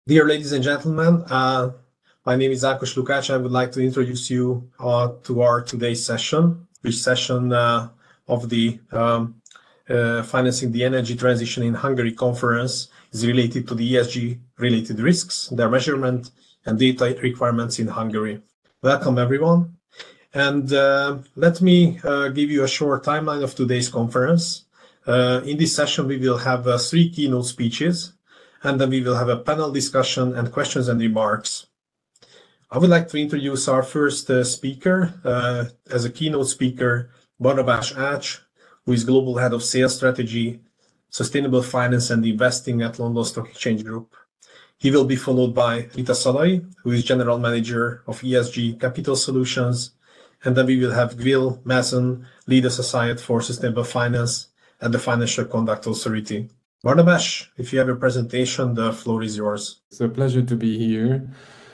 Dear ladies and gentlemen, my name is Ákos Lukács. I would like to introduce you to our today's session, which session of the Financing the Energy Transition in Hungary conference is related to the ESG-related risks, their measurement, and data requirements in Hungary. Welcome, everyone. And let me give you a short timeline of today's conference. In this session, we will have 3 keynote speeches, and then we will have a panel discussion and questions and remarks. I would like to introduce our first speaker as a keynote speaker, Barnabás Ács, who is Global Head of Sales Strategy, Sustainable Finance and Investing at London Stock Exchange Group. He will be followed by Rita Szalai, who is General Manager of ESG Capital Solutions, and then we will have Will Mason, Lead Associate for Sustainable Finance at the Financial Conduct Authority. Barnabás, if you have a presentation, the floor is yours. It's a pleasure to be here.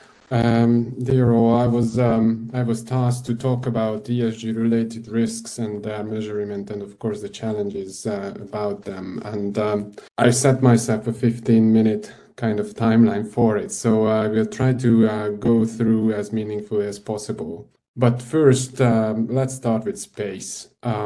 Dear all, I was tasked to talk about ESG-related risks and their measurement, and of course the challenges about them. And I set myself a 15-minute kind of timeline for it, so I will try to go through as meaningfully as possible. But first, let's start with space.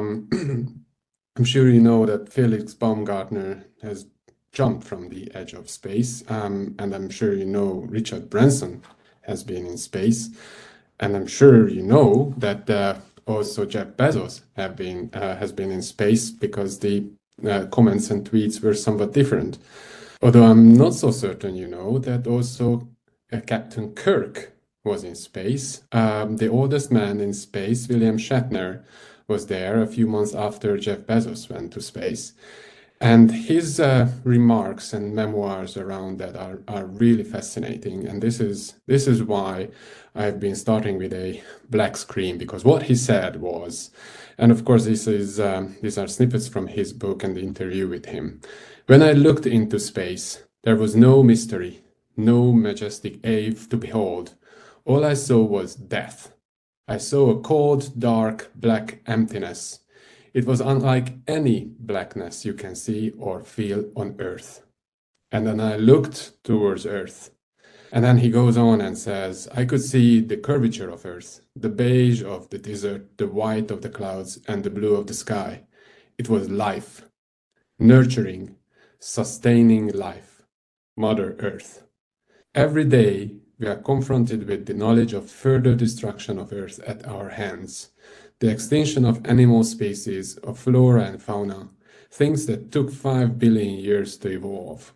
I'm sure you know that Felix Baumgartner has jumped from the edge of space, and I'm sure you know Richard Branson has been in space, and I'm sure you know that also Jeff Bezos has been in space, because the comments and tweets were somewhat different. Although I'm not so certain you know that also Captain Kirk was in space. The oldest man in space, William Shatner, was there a few months after Jeff Bezos went to space. And his remarks and memoirs around that are really fascinating. And this is why I've been starting with a black screen, because what he said was, and of course these are snippets from his book and the interview with him. When I looked into space, there was no mystery, no majestic ave to behold. All I saw was death. I saw a cold, dark, black emptiness. It was unlike any blackness you can see or feel on Earth. And then I looked towards Earth. And then he goes on and says, I could see the curvature of Earth, the beige of the desert, the white of the clouds, and the blue of the sky. It was life, nurturing, sustaining life, Mother Earth. Every day, we are confronted with the knowledge of further destruction of Earth at our hands, the extinction of animal species, of flora and fauna, things that took 5 billion years to evolve.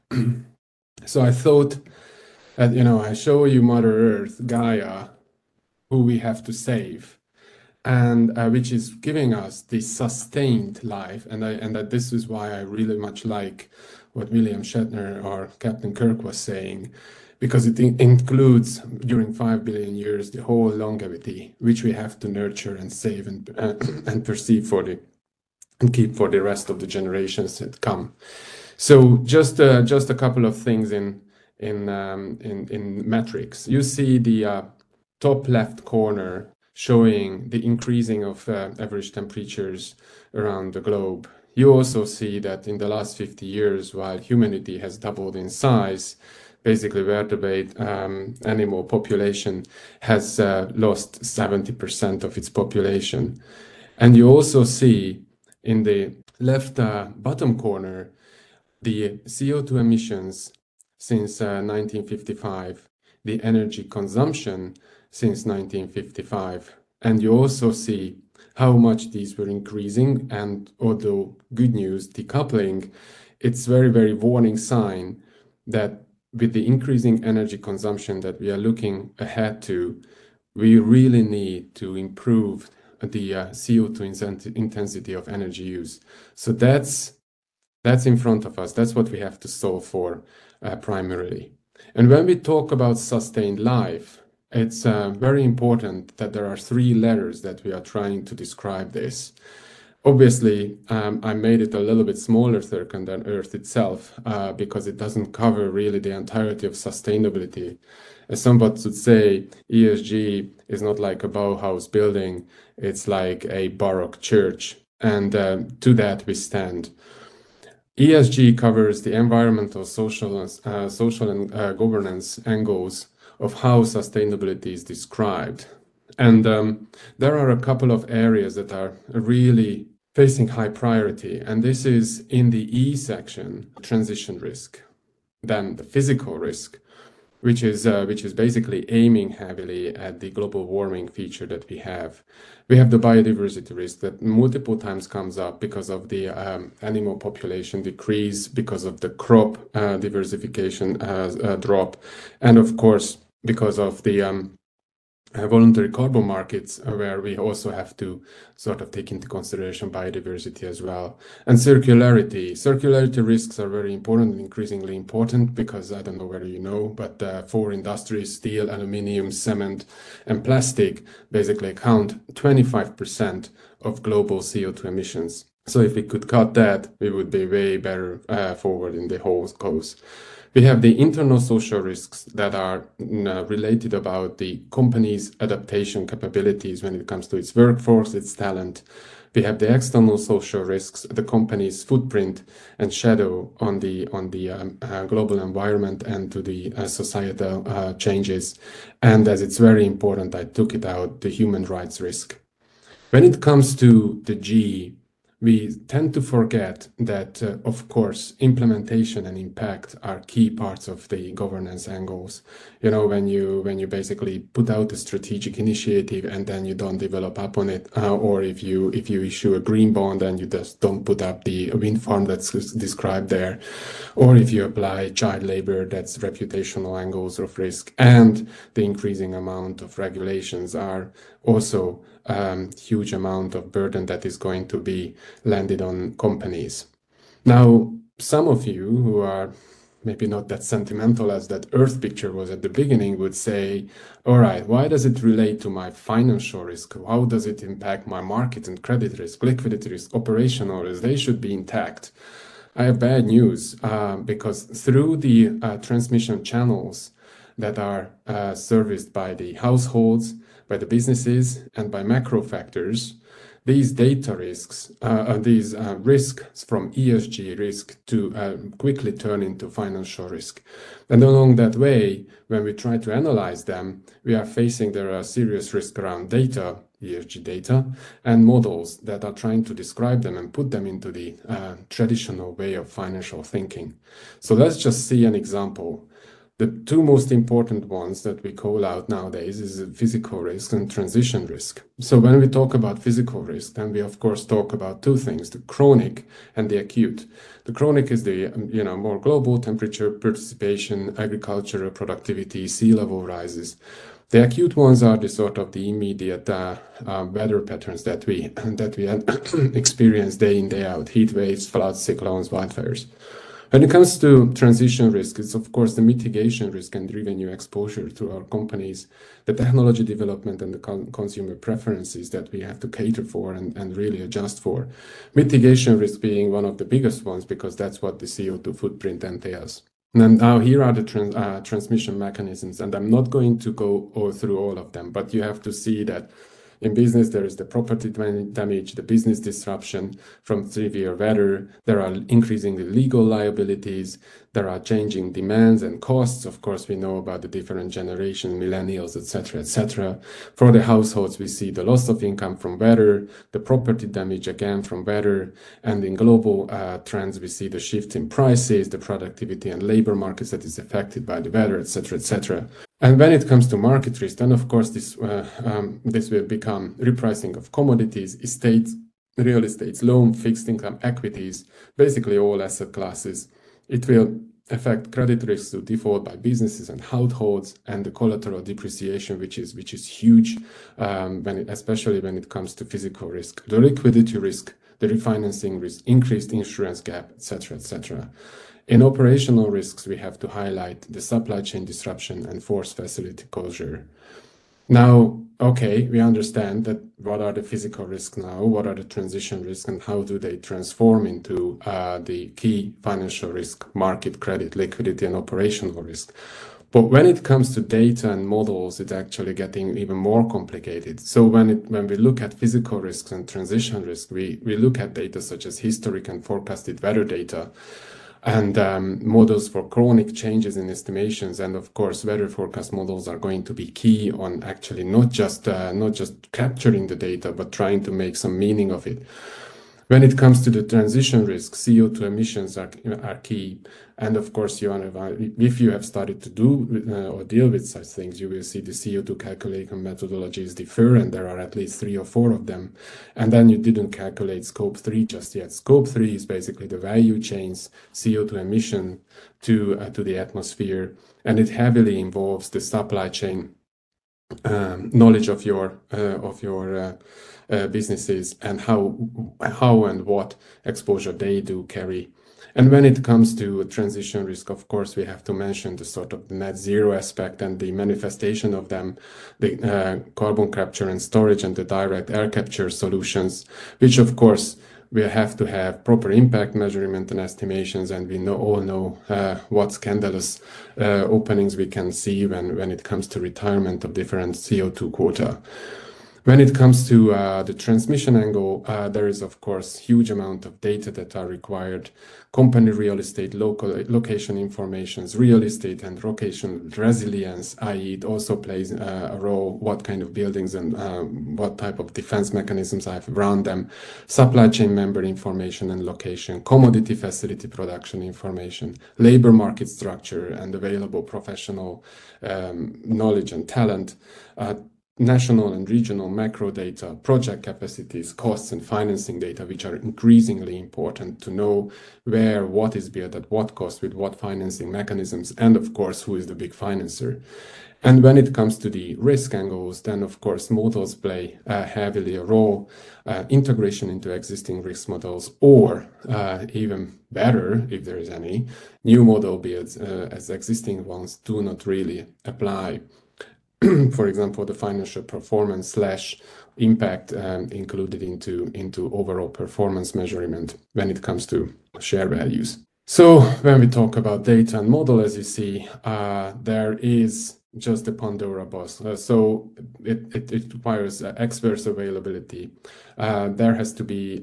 So I thought that, I show you Mother Earth, Gaia, who we have to save, and which is giving us this sustained life, and that this is why I really much like what William Shatner or Captain Kirk was saying, because it includes, during 5 billion years, the whole longevity, which we have to nurture and save and perceive and keep for the rest of the generations that come. So just a couple of things in metrics. You see the top left corner showing the increasing of average temperatures around the globe. You also see that in the last 50 years, while humanity has doubled in size, basically vertebrate animal population has lost 70% of its population. And you also see in the left bottom corner the CO2 emissions since 1955, the energy consumption since 1955. And you also see how much these were increasing, and although good news, decoupling, it's very, very warning sign that with the increasing energy consumption that we are looking ahead to, we really need to improve the CO2 intensity of energy use. So that's in front of us. That's what we have to solve for primarily. And when we talk about sustained life, it's very important that there are 3 letters that we are trying to describe this. Obviously, I made it a little bit smaller circle than Earth itself, because it doesn't cover really the entirety of sustainability. As somebody would say, ESG is not like a Bauhaus building, it's like a Baroque church, and to that we stand. ESG covers the environmental, social, and governance angles of how sustainability is described. And there are a couple of areas that are really facing high priority. And this is in the E section, transition risk, then the physical risk, which is basically aiming heavily at the global warming feature that we have. We have the biodiversity risk that multiple times comes up because of the animal population decrease, because of the crop diversification drop, and of course, because of the voluntary carbon markets, where we also have to sort of take into consideration biodiversity as well. And circularity. Circularity risks are very important and increasingly important because I don't know whether you know, but for industries, steel, aluminium, cement, and plastic basically account 25% of global CO2 emissions. So if we could cut that, we would be way better forward in the whole cause. We have the internal social risks that are related about the company's adaptation capabilities when it comes to its workforce, its talent. We have the external social risks, the company's footprint and shadow on the global environment and to the societal changes. And as it's very important, I took it out, the human rights risk. When it comes to the G, we tend to forget that, of course, implementation and impact are key parts of the governance angles. You know, when you basically put out a strategic initiative and then you don't develop up on it, or if you issue a green bond and you just don't put up the wind farm that's described there, or if you apply child labor, that's reputational angles of risk, and the increasing amount of regulations are also huge amount of burden that is going to be landed on companies. Now, some of you who are maybe not that sentimental as that Earth picture was at the beginning would say, all right, why does it relate to my financial risk? How does it impact my market and credit risk, liquidity risk, operational risk? They should be intact. I have bad news because through the transmission channels that are serviced by the households, by the businesses, and by macro factors, these data risks, these risks from ESG risk to quickly turn into financial risk. And along that way, when we try to analyze them, we are facing there are serious risk around data, ESG data, and models that are trying to describe them and put them into the traditional way of financial thinking. So let's just see an example. The two most important ones that we call out nowadays is physical risk and transition risk. So when we talk about physical risk, then we of course talk about two things, the chronic and the acute. The chronic is the more global temperature, participation, agricultural productivity, sea level rises. The acute ones are the sort of the immediate weather patterns that we experience day in, day out, heat waves, floods, cyclones, wildfires. When it comes to transition risk, it's of course the mitigation risk and revenue exposure to our companies, the technology development and the consumer preferences that we have to cater for and really adjust for. Mitigation risk being one of the biggest ones because that's what the CO2 footprint entails. And now here are the transmission mechanisms, and I'm not going to go through all of them, but you have to see that in business, there is the property damage, the business disruption from severe weather. There are increasingly legal liabilities. There are changing demands and costs. Of course, we know about the different generations, millennials, etc., etc. For the households, we see the loss of income from weather, the property damage again from weather, and in global trends, we see the shift in prices, the productivity and labor markets that is affected by the weather, etc., etc. And when it comes to market risk, then of course this will become repricing of commodities, estates, real estates, loan, fixed income, equities, basically all asset classes. It will affect credit risks to default by businesses and households, and the collateral depreciation, which is huge, especially when it comes to physical risk, the liquidity risk, the refinancing risk, increased insurance gap, etc., etc. In operational risks, we have to highlight the supply chain disruption and forced facility closure. Now, okay, we understand that what are the physical risks now, what are the transition risks, and how do they transform into the key financial risk, market, credit, liquidity, and operational risk. But when it comes to data and models, it's actually getting even more complicated. So when we look at physical risks and transition risk, we look at data such as historic and forecasted weather data, and models for chronic changes in estimations. And of course, weather forecast models are going to be key on actually not just capturing the data, but trying to make some meaning of it. When it comes to the transition risk, CO2 emissions are key. And of course, if you have started to do or deal with such things, you will see the CO2 calculation methodologies differ, and there are at least 3 or 4 of them. And then you didn't calculate scope 3 just yet. Scope 3 is basically the value chain's CO2 emission to the atmosphere, and it heavily involves the supply chain knowledge of your businesses and how and what exposure they do carry. And when it comes to transition risk, of course, we have to mention the sort of the net zero aspect and the manifestation of them, the carbon capture and storage and the direct air capture solutions, which of course we have to have proper impact measurement and estimations, and we all know what scandalous openings we can see when it comes to retirement of different CO2 quota. When it comes to the transmission angle, there is, of course, huge amount of data that are required. Company real estate, location informations, real estate and location resilience, i.e. it also plays a role, what kind of buildings and what type of defense mechanisms I have around them, supply chain member information and location, commodity facility production information, labor market structure and available professional knowledge and talent, national and regional macro data, project capacities, costs, and financing data, which are increasingly important to know where what is built at what cost with what financing mechanisms, and of course, who is the big financer. And when it comes to the risk angles, then of course, models play heavily a role, integration into existing risk models, or even better, if there is any, new model builds as existing ones do not really apply. For example, the financial performance / impact included into overall performance measurement when it comes to share values. So when we talk about data and model, as you see, there is just the Pandora box. So it requires experts availability. There has to be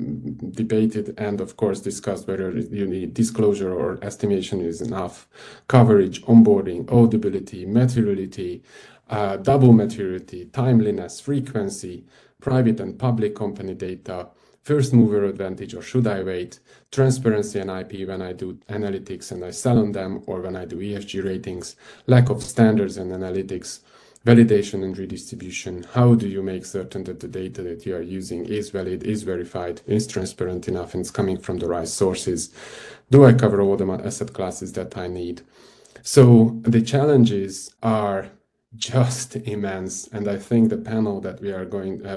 debated and of course discussed whether you need disclosure or estimation is enough, coverage, onboarding, audibility, materiality, double materiality, timeliness, frequency, private and public company data, first mover advantage or should I wait, transparency and IP when I do analytics and I sell on them, or when I do ESG ratings, lack of standards and analytics, validation and redistribution. How do you make certain that the data that you are using is valid, is verified, is transparent enough, and it's coming from the right sources? Do I cover all the asset classes that I need? So the challenges are just immense, and I think the panel that we are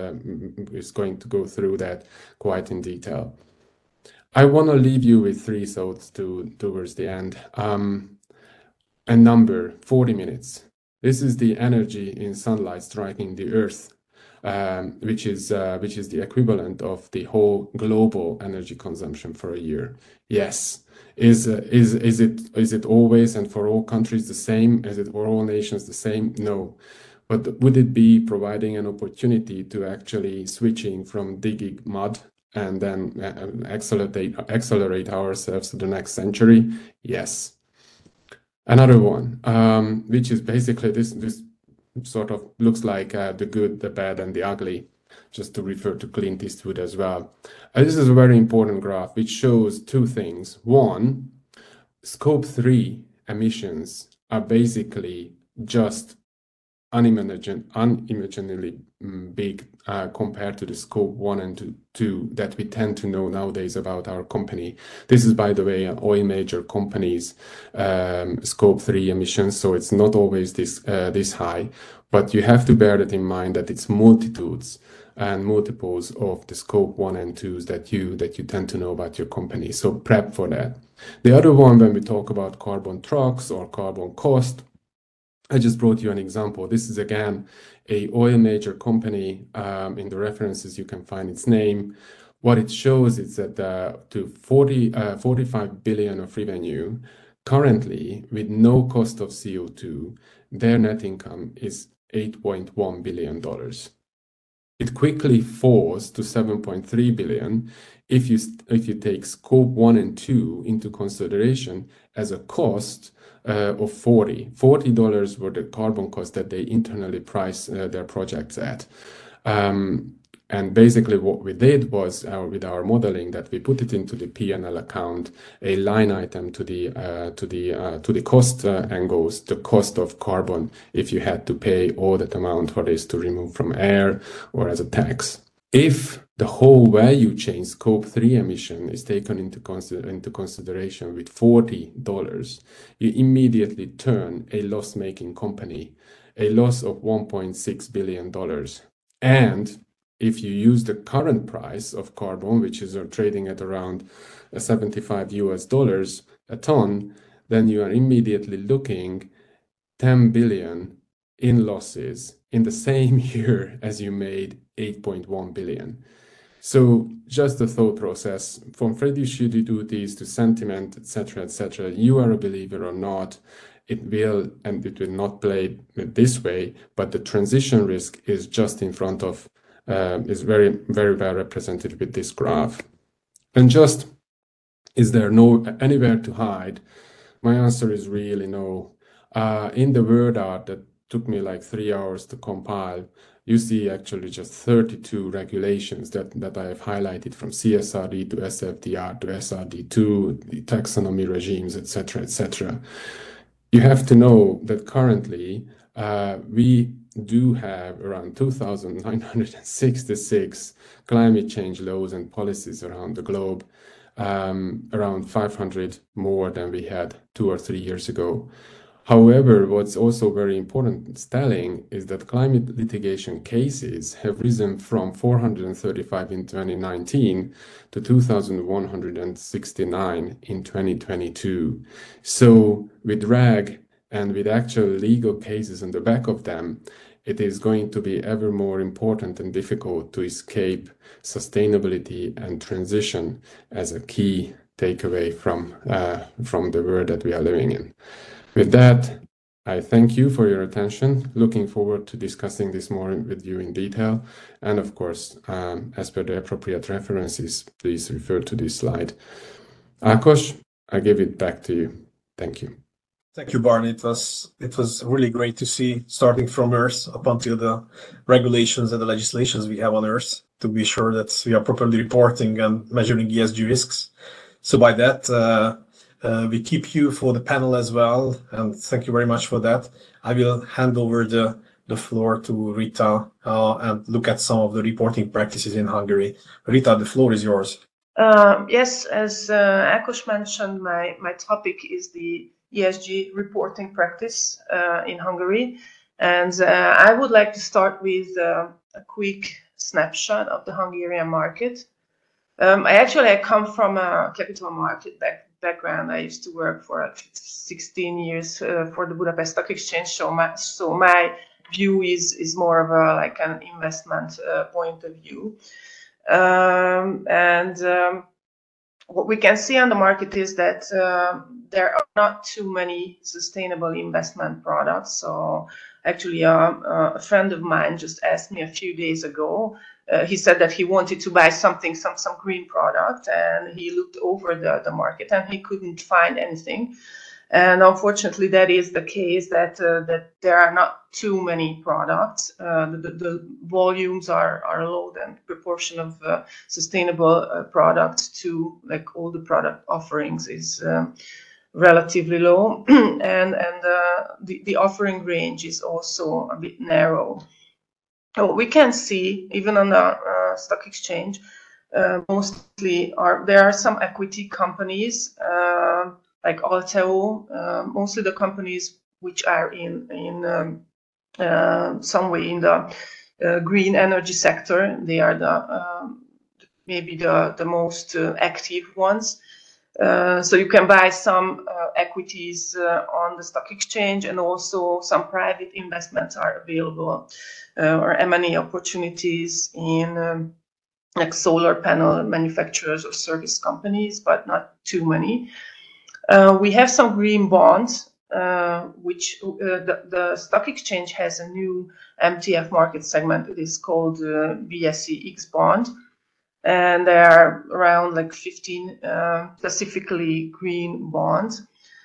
is going to go through that quite in detail. I want to leave you with 3 thoughts towards the end. A number, 40 minutes. This is the energy in sunlight striking the earth, which is the equivalent of the whole global energy consumption for a year. Yes. Is it always and for all countries the same? Is it for all nations the same? No. But would it be providing an opportunity to actually switching from digging mud and then accelerate ourselves to the next century? Yes. Another one, which is basically this sort of looks like the good, the bad, and the ugly, just to refer to Clint Eastwood as well. This is a very important graph which shows 2 things. One, scope 3 emissions are basically just unimaginably big compared to the scope 1 and 2 that we tend to know nowadays about our company. This is, by the way, an oil major companies scope 3 emissions, so it's not always this high, but you have to bear that in mind that it's multitudes and multiples of the scope 1 and 2s that you tend to know about your company. So prep for that. The other one, when we talk about carbon trucks or carbon cost, I just brought you an example. This is again a oil major company. In the references you can find its name. What it shows is that to 45 billion of revenue, currently, with no cost of CO2, their net income is $8.1 billion. It quickly falls to 7.3 billion if you take scope 1 and 2 into consideration as a cost of $40 were the carbon cost that they internally price their projects at. And basically what we did was with our modeling that we put it into the P&L account, a line item to the cost angles, the cost of carbon, if you had to pay all that amount for this to remove from air or as a tax. If the whole value chain scope 3 emission is taken into consideration with $40, you immediately turn a loss-making company, a loss of $1.6 billion. And if you use the current price of carbon, which is trading at around $75 a ton, then you are immediately looking 10 billion in losses in the same year as you made 8.1 billion. So just the thought process from fiduciary duties to sentiment, etc., you are a believer or not, it will not play this way, but the transition risk is just in front of is very, very well represented with this graph. And just, is there anywhere to hide? My answer is really no. In the word art that took me like 3 hours to compile, you see actually just 32 regulations that I have highlighted, from CSRD to SFDR to SRD2, the taxonomy regimes, etc. You have to know that currently we do have around 2,966 climate change laws and policies around the globe, around 500 more than we had 2 or 3 years ago. However, what's also very important telling is that climate litigation cases have risen from 435 in 2019 to 2,169 in 2022. So with RAG and with actual legal cases on the back of them, it is going to be ever more important and difficult to escape sustainability and transition as a key takeaway from the world that we are living in. With that, I thank you for your attention. Looking forward to discussing this more with you in detail. And of course, as per the appropriate references, please refer to this slide. Ákos, I give it back to you. Thank you. Thank you, Barney. It was really great to see, starting from Earth up until the regulations and the legislations we have on Earth, to be sure that we are properly reporting and measuring ESG risks. So by that, we keep you for the panel as well, and thank you very much for that. I will hand over the floor to Rita and look at some of the reporting practices in Hungary. Rita, the floor is yours. Yes, as Ákos mentioned, my topic is the ESG reporting practice in Hungary, and I would like to start with a quick snapshot of the Hungarian market. I come from a capital market background. I used to work for 16 years for the Budapest Stock Exchange, so my view is more of like an investment point of view. What we can see on the market is that there are not too many sustainable investment products. So actually, a friend of mine just asked me a few days ago. He said that he wanted to buy some green product, and he looked over the market and he couldn't find anything. And unfortunately, that is the case, that there are not too many products. The volumes are low, and proportion of sustainable products to like all the product offerings is relatively low, and the offering range is also a bit narrow. So we can see, even on the stock exchange, mostly there are some equity companies like Alteo, mostly the companies which are in some way in the green energy sector. They are maybe the most active ones. So you can buy some equities on the stock exchange, and also some private investments are available, or M&A opportunities in like solar panel manufacturers or service companies, but not too many. We have some green bonds, which the stock exchange has a new MTF market segment. It is called BSE X bond. And there are around like 15 specifically green bonds.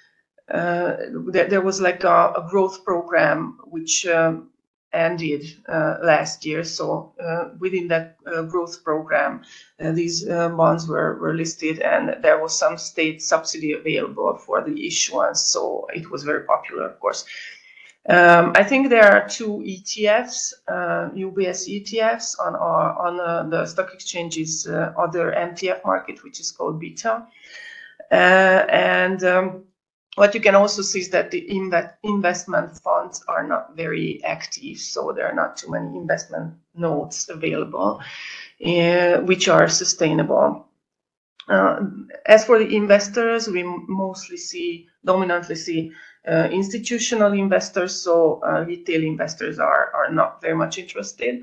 There was like a growth program which ended last year. So within that growth program, these bonds were listed, and there was some state subsidy available for the issuance. So it was very popular, of course. I think there are two ETFs, UBS ETFs on the stock exchange's other MTF market, which is called Beta. What you can also see is that the investment funds are not very active, so there are not too many investment notes available, which are sustainable. As for the investors, we dominantly see institutional investors, so retail investors are not very much interested.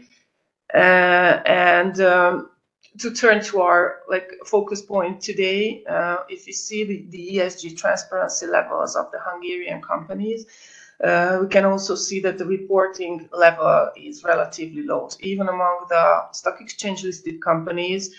To turn to our focus point today, if you see the ESG transparency levels of the Hungarian companies, we can also see that the reporting level is relatively low. Even among the stock exchange listed companies,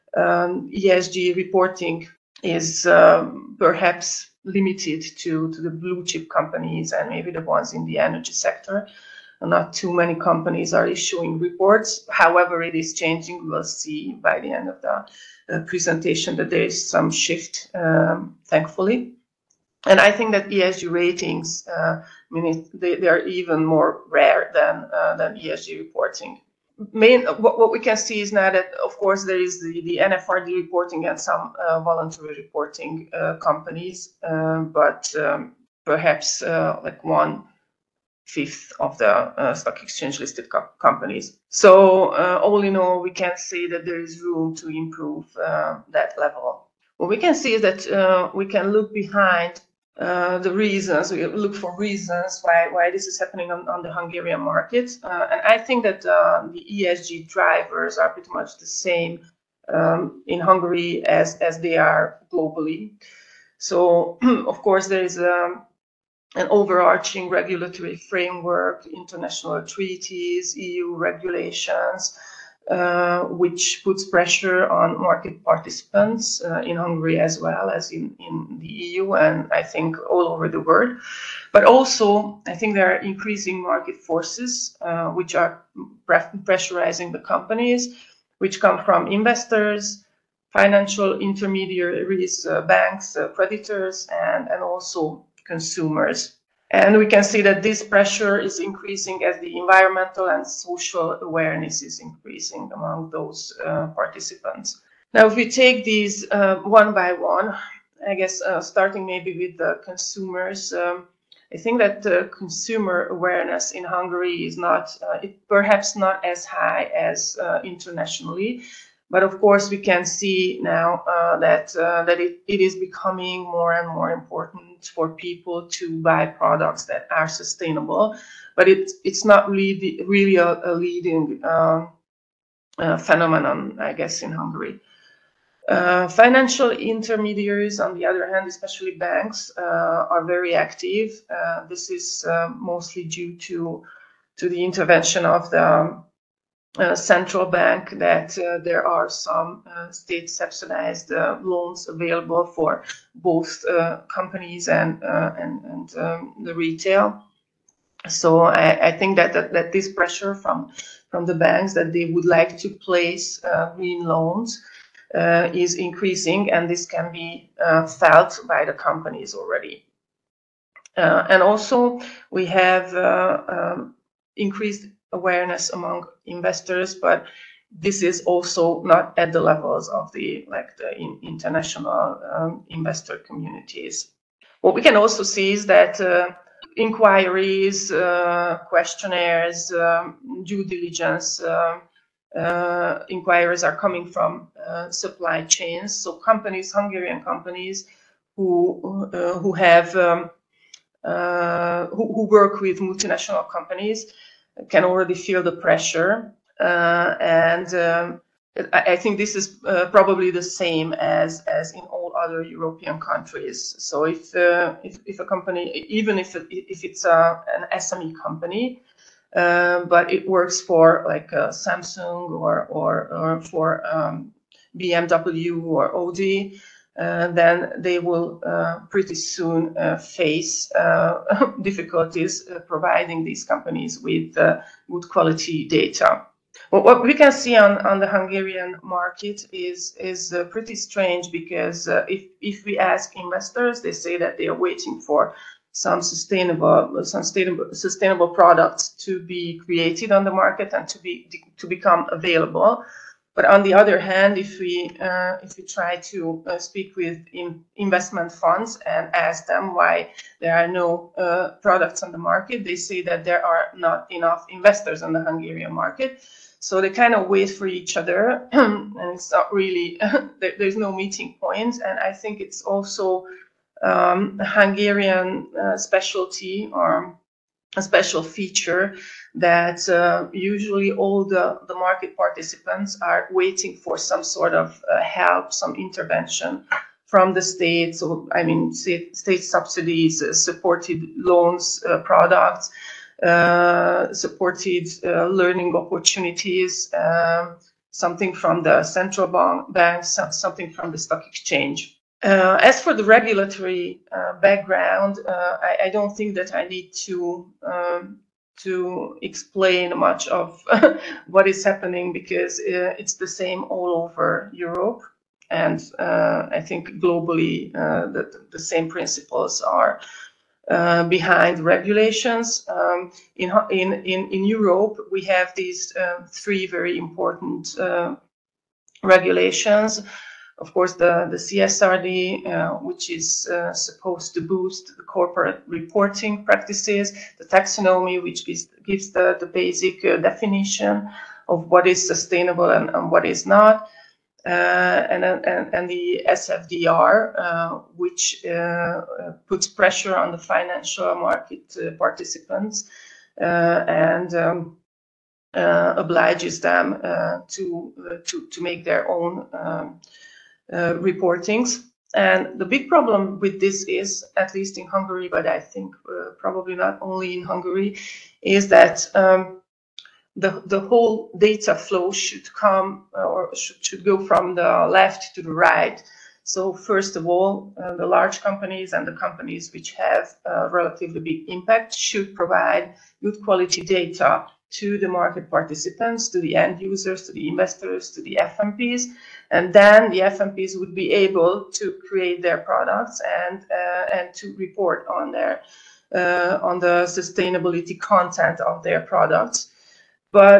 ESG reporting is perhaps limited to the blue chip companies and maybe the ones in the energy sector. Not too many companies are issuing reports. However, it is changing. We'll see by the end of the presentation that there is some shift, thankfully. And I think that ESG ratings, they are even more rare than ESG reporting. What we can see is now that, of course, there is the NFRD reporting and some voluntary reporting companies, but perhaps like 1/5 of the stock exchange listed companies. So all in all, we can say that there is room to improve that level. What we can see is that we can look behind the reasons, we look for reasons why this is happening on the Hungarian market. And I think that the ESG drivers are pretty much the same in Hungary as they are globally. So, of course, there is an overarching regulatory framework, international treaties, EU regulations, which puts pressure on market participants in Hungary as well as in the EU and I think all over the world. But also, I think there are increasing market forces which are pressurizing the companies, which come from investors, financial intermediaries, banks, creditors, and also consumers. And we can see that this pressure is increasing as the environmental and social awareness is increasing among those participants. Now, if we take these one by one, I guess starting maybe with the consumers, I think that the consumer awareness in Hungary is perhaps not as high as internationally. But of course, we can see now that it is becoming more and more important for people to buy products that are sustainable. But it's not really a leading phenomenon, I guess, in Hungary. Financial intermediaries, on the other hand, especially banks, are very active. This is mostly due to the intervention of the central bank, that there are some state subsidized loans available for both companies and the retail. So I think that this pressure from the banks that they would like to place green loans is increasing, and this can be felt by the companies already. And also we have increased awareness among investors, but this is also not at the levels of the international investor communities. What we can also see is that inquiries, questionnaires, due diligence inquiries are coming from supply chains. So companies, Hungarian companies who work with multinational companies can already feel the pressure, and I think this is probably the same as in all other European countries. So if a company, even if it's an SME company, but it works for like Samsung or for BMW or Audi, then they will pretty soon face difficulties providing these companies with good quality data. What we can see on the Hungarian market is pretty strange, because if we ask investors, they say that they are waiting for some sustainable products to be created on the market and to become available. But on the other hand, if we try to speak with investment funds and ask them why there are no products on the market, they say that there are not enough investors on the Hungarian market. So they kind of wait for each other, and it's not really, there's no meeting point. And I think it's also a Hungarian specialty or a special feature that usually all the market participants are waiting for some sort of help, some intervention from the state. So, I mean, state subsidies, supported loans, products, supported learning opportunities, something from the central banks, something from the stock exchange. As for the regulatory background, I don't think that I need to explain much of what is happening, because it's the same all over Europe, and I think globally the same principles are behind regulations. In Europe, we have these three very important regulations. Of course, the CSRD, which is supposed to boost the corporate reporting practices, the taxonomy, which gives the basic definition of what is sustainable and what is not, and the SFDR, which puts pressure on the financial market participants and obliges them to make their own reportings. And the big problem with this is, at least in Hungary, but I think probably not only in Hungary, is that the whole data flow should come or should go from the left to the right. So first of all, the large companies and the companies which have relatively big impact should provide good quality data to the market participants, to the end users, to the investors, to the FMPs, and then the FMPs would be able to create their products and to report on their on the sustainability content of their products. But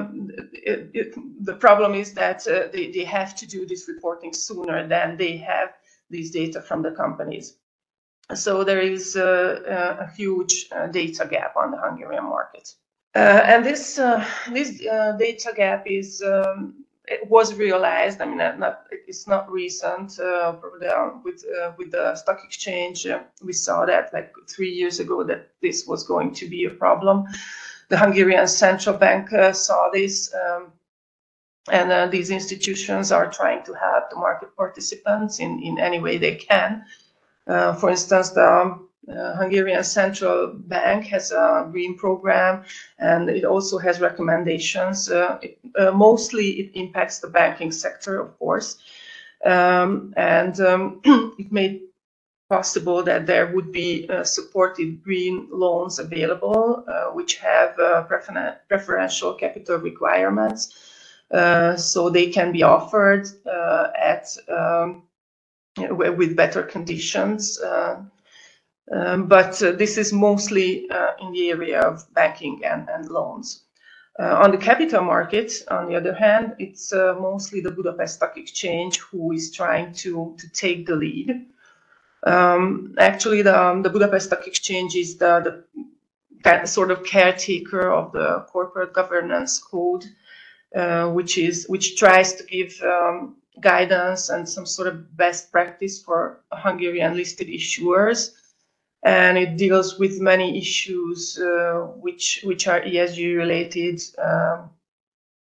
the problem is that they have to do this reporting sooner than they have these data from the companies. So there is a huge data gap on the Hungarian market. And this data gap is it was realized. I mean, it's not recent. With the stock exchange, we saw that like 3 years ago that this was going to be a problem. The Hungarian Central Bank saw this, and these institutions are trying to help the market participants in any way they can. For instance, the Hungarian Central Bank has a green program, and it also has recommendations. Mostly it impacts the banking sector, of course, and it made possible that there would be supported green loans available, which have preferential capital requirements, so they can be offered with better conditions. But this is mostly in the area of banking and loans. On the capital market, on the other hand, it's mostly the Budapest Stock Exchange who is trying to take the lead. Actually, the Budapest Stock Exchange is the sort of caretaker of the corporate governance code, which tries to give guidance and some sort of best practice for Hungarian listed issuers, and it deals with many issues which are ESG related,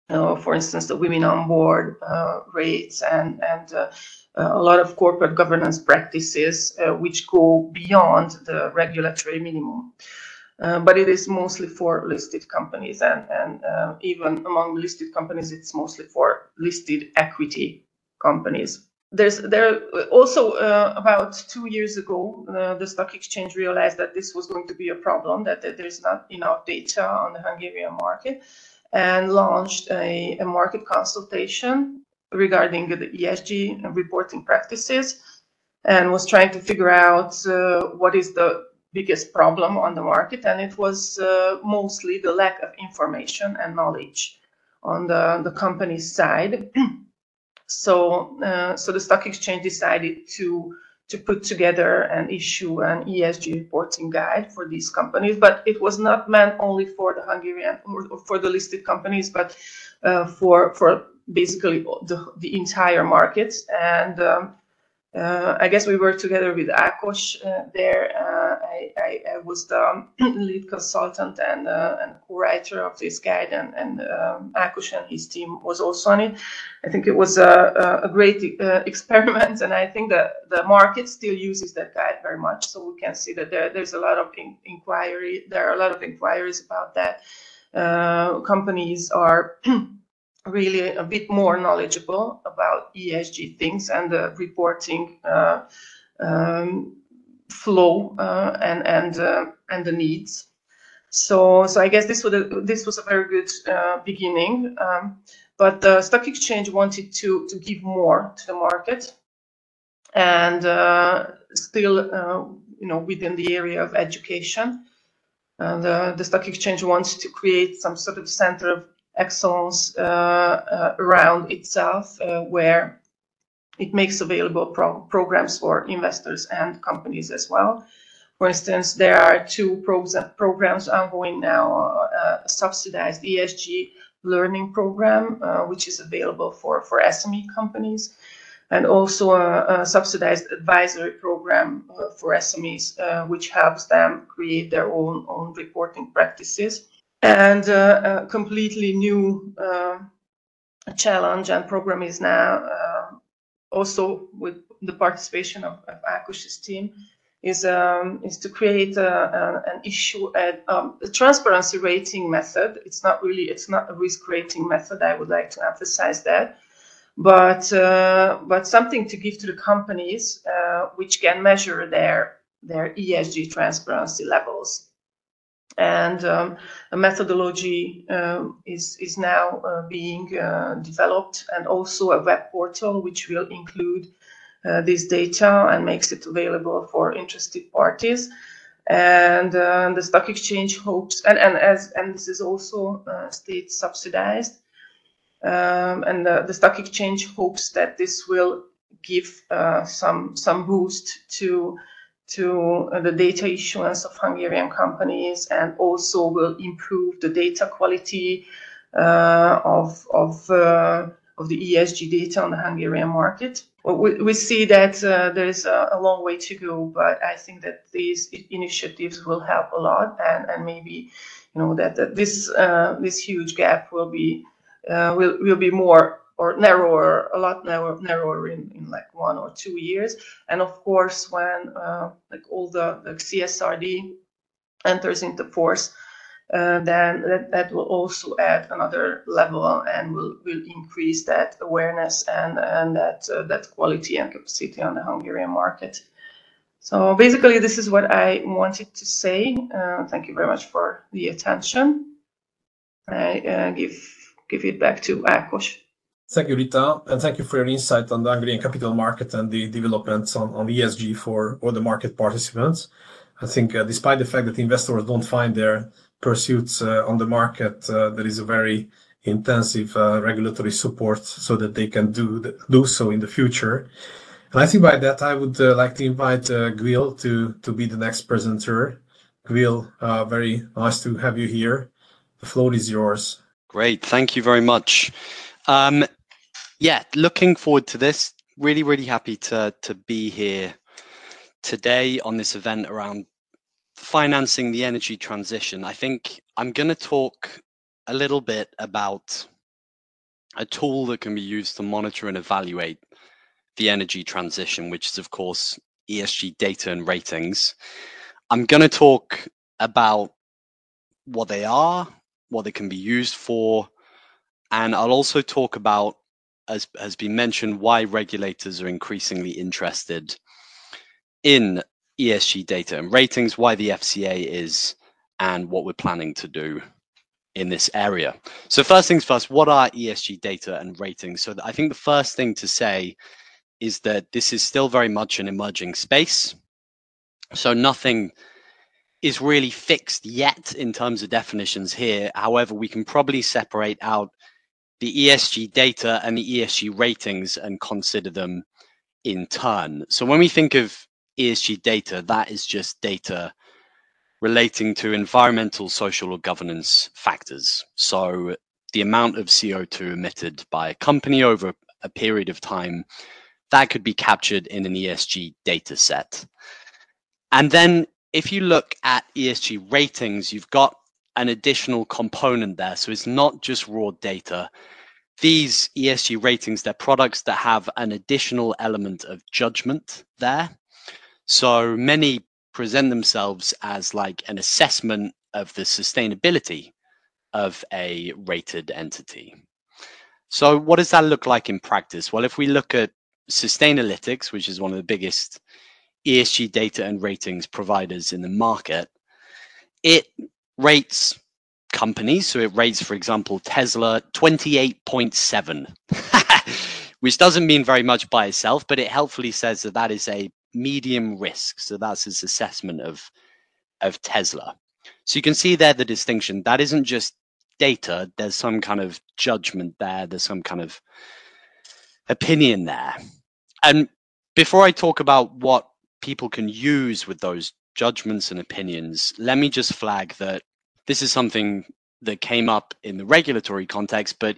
for instance, the women on board rates and a lot of corporate governance practices which go beyond the regulatory minimum. But it is mostly for listed companies, and even among listed companies, it's mostly for listed equity companies. There also about 2 years ago, the stock exchange realized that this was going to be a problem, that there's not enough data on the Hungarian market, and launched a market consultation regarding the ESG reporting practices, and was trying to figure out what is the biggest problem on the market, and it was mostly the lack of information and knowledge on the company's side. So the stock exchange decided to put together and issue an ESG reporting guide for these companies, but it was not meant only for the Hungarian or for the listed companies, but for basically the entire market. And I guess we worked together with Ákos there. I was the lead consultant and co-writer of this guide, and Ákos and his team was also on it. I think it was a great experiment, and I think that the market still uses that guide very much. So we can see that there's a lot of inquiry. There are a lot of inquiries about that. Companies are really a bit more knowledgeable about ESG things and the reporting flow and the needs. So I guess this was a very good beginning. But the stock exchange wanted to give more to the market, and still, within the area of education. And the stock exchange wants to create some sort of center of excellence around itself, where it makes available programs for investors and companies as well. For instance, there are 2 programs ongoing now: a subsidized ESG learning program, which is available for SME companies, and also a subsidized advisory program for SMEs, which helps them create their own reporting practices. And a completely new challenge and program is now also with the participation of Ákos's team is to create an issue a transparency rating method. It's not a risk rating method. I would like to emphasize that, but something to give to the companies which can measure their ESG transparency levels. And a methodology is now being developed, and also a web portal which will include this data and makes it available for interested parties. And the stock exchange hopes, and this is also state subsidized, and the stock exchange hopes that this will give some boost to the data issuance of Hungarian companies, and also will improve the data quality of the ESG data on the Hungarian market. Well, we see that there is a long way to go, but I think that these initiatives will help a lot, and maybe that this huge gap will be more or narrower, a lot narrower in like 1 or 2 years. And of course, when all the CSRD enters into force, then that will also add another level and will increase that awareness and that quality and capacity on the Hungarian market. So basically, this is what I wanted to say. Thank you very much for the attention. I give it back to Ákos. Thank you, Rita, and thank you for your insight on the Hungarian capital market and the developments on ESG for all the market participants. I think despite the fact that investors don't find their pursuits on the market, there is a very intensive regulatory support so that they can do so in the future. And I think by that, I would like to invite Gwil to be the next presenter. Gwil, very nice to have you here. The floor is yours. Great, thank you very much. Looking forward to this. Really happy to be here today on this event around financing the energy transition. I think I'm going to talk a little bit about a tool that can be used to monitor and evaluate the energy transition, which is, of course, ESG data and ratings. I'm going to talk about what they are, what they can be used for, and I'll also talk about, as has been mentioned, why regulators are increasingly interested in ESG data and ratings, why the FCA is, and what we're planning to do in this area. So first things first, what are ESG data and ratings? So I think the first thing to say is that this is still very much an emerging space. So nothing is really fixed yet in terms of definitions here. However, we can probably separate out the ESG data and the ESG ratings and consider them in turn. So when we think of ESG data, that is just data relating to environmental, social, or governance factors. So the amount of CO2 emitted by a company over a period of time, that could be captured in an ESG data set. And then if you look at ESG ratings, you've got an additional component there. So it's not just raw data. These ESG ratings, they're products that have an additional element of judgment there. So many present themselves as like an assessment of the sustainability of a rated entity. So what does that look like in practice? Well, if we look at Sustainalytics, which is one of the biggest ESG data and ratings providers in the market, it rates companies. So it rates, for example, Tesla 28.7, which doesn't mean very much by itself, but it helpfully says that that is a medium risk. So that's its assessment of Tesla. So you can see there the distinction. That isn't just data. There's some kind of judgment there. There's some kind of opinion there. And before I talk about what people can use with those judgments and opinions, let me just flag that this is something that came up in the regulatory context, but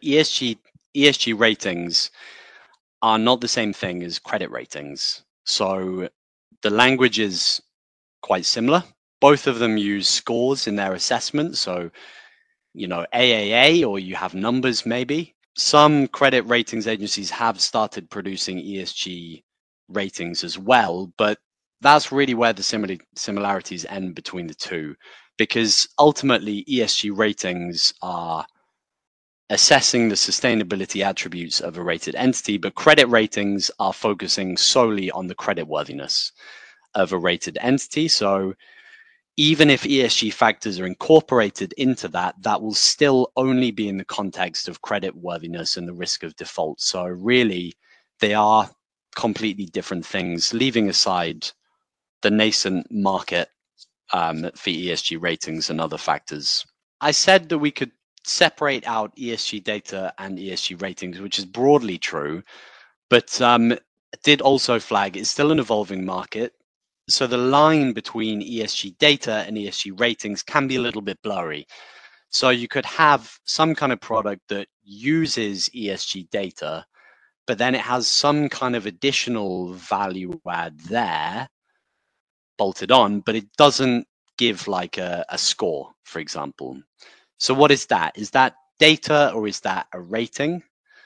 ESG ratings are not the same thing as credit ratings. So the language is quite similar. Both of them use scores in their assessment. So, you know, AAA, or you have numbers maybe. Some credit ratings agencies have started producing ESG ratings as well, but that's really where the similarities end between the two, because ultimately ESG ratings are assessing the sustainability attributes of a rated entity, but credit ratings are focusing solely on the creditworthiness of a rated entity. So even if ESG factors are incorporated into that, that will still only be in the context of creditworthiness and the risk of default. So really, they are completely different things, leaving aside the nascent market for ESG ratings and other factors. I said that we could separate out ESG data and ESG ratings, which is broadly true, but did also flag it's still an evolving market. So the line between ESG data and ESG ratings can be a little bit blurry. So you could have some kind of product that uses ESG data, but then it has some kind of additional value add there bolted on, but it doesn't give like a score, for example. So what is that? Is that data or is that a rating?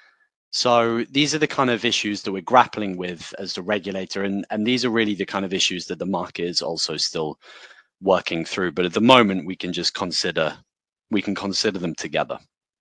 So these are the kind of issues that we're grappling with as the regulator, and these are really the kind of issues that the market is also still working through. But at the moment, we can consider them together.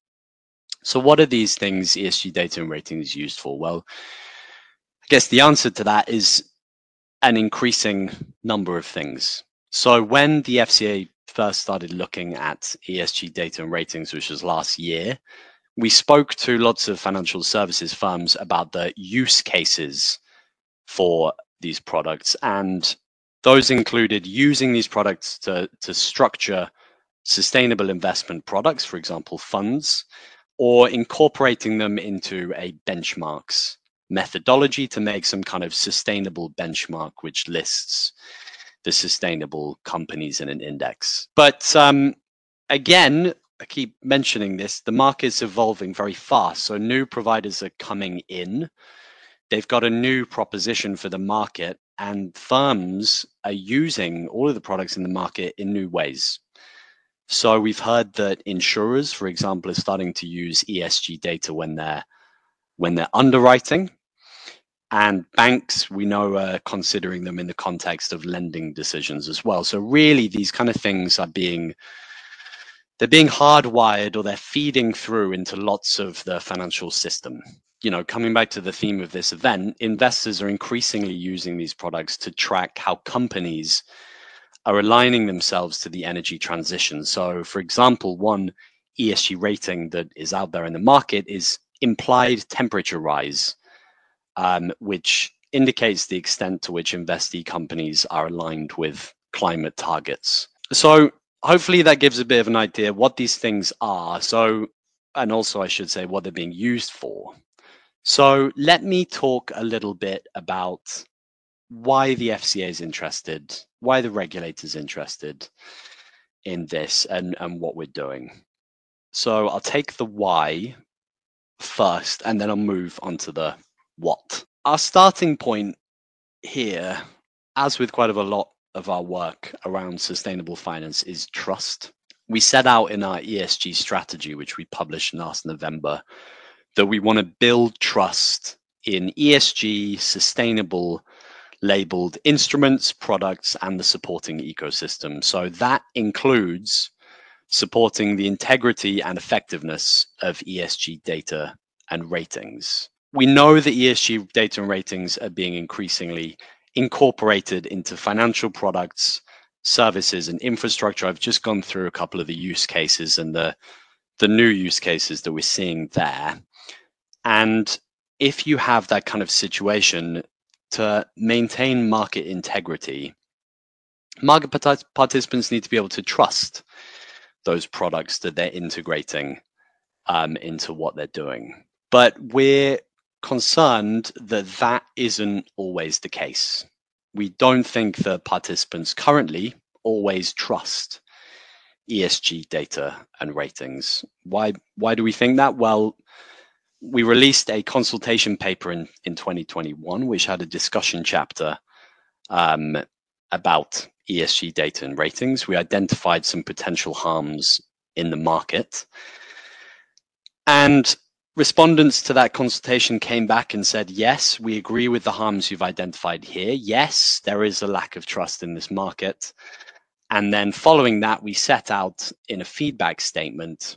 So what are these things ESG data and ratings used for? Well, I guess the answer to that is an increasing number of things. So when the FCA first started looking at ESG data and ratings, which was last year, we spoke to lots of financial services firms about the use cases for these products, and those included using these products to structure sustainable investment products, for example, funds, or incorporating them into a benchmarks methodology to make some kind of sustainable benchmark which lists the sustainable companies in an index. But again, I keep mentioning this, the market's evolving very fast. So new providers are coming in. They've got a new proposition for the market, and firms are using all of the products in the market in new ways. So we've heard that insurers, for example, are starting to use ESG data when they're underwriting, and banks, we know, are considering them in the context of lending decisions as well. So really, these kind of things they're being hardwired, or they're feeding through into lots of the financial system. You know, coming back to the theme of this event, investors are increasingly using these products to track how companies are aligning themselves to the energy transition. So, for example, one ESG rating that is out there in the market is implied temperature rise, which indicates the extent to which investee companies are aligned with climate targets. So hopefully that gives a bit of an idea what these things are. So, and also I should say what they're being used for. So let me talk a little bit about why the FCA is interested, why the regulator's interested in this, and what we're doing. So I'll take the why first, and then I'll move on to the what. Our starting point here, as with quite a lot of our work around sustainable finance, is trust. We set out in our ESG strategy, which we published last November, that we want to build trust in ESG, sustainable labeled instruments, products, and the supporting ecosystem. So that includes supporting the integrity and effectiveness of ESG data and ratings. We know that ESG data and ratings are being increasingly incorporated into financial products, services, and infrastructure. I've just gone through a couple of the use cases and the new use cases that we're seeing there. And if you have that kind of situation, to maintain market integrity, market participants need to be able to trust those products that they're integrating into what they're doing. But we're concerned that that isn't always the case. We don't think that participants currently always trust ESG data and ratings. Why do we think that? Well, we released a consultation paper in 2021, which had a discussion chapter about ESG data and ratings. We identified some potential harms in the market. And respondents to that consultation came back and said, yes, we agree with the harms you've identified here. Yes, there is a lack of trust in this market. And then following that, we set out in a feedback statement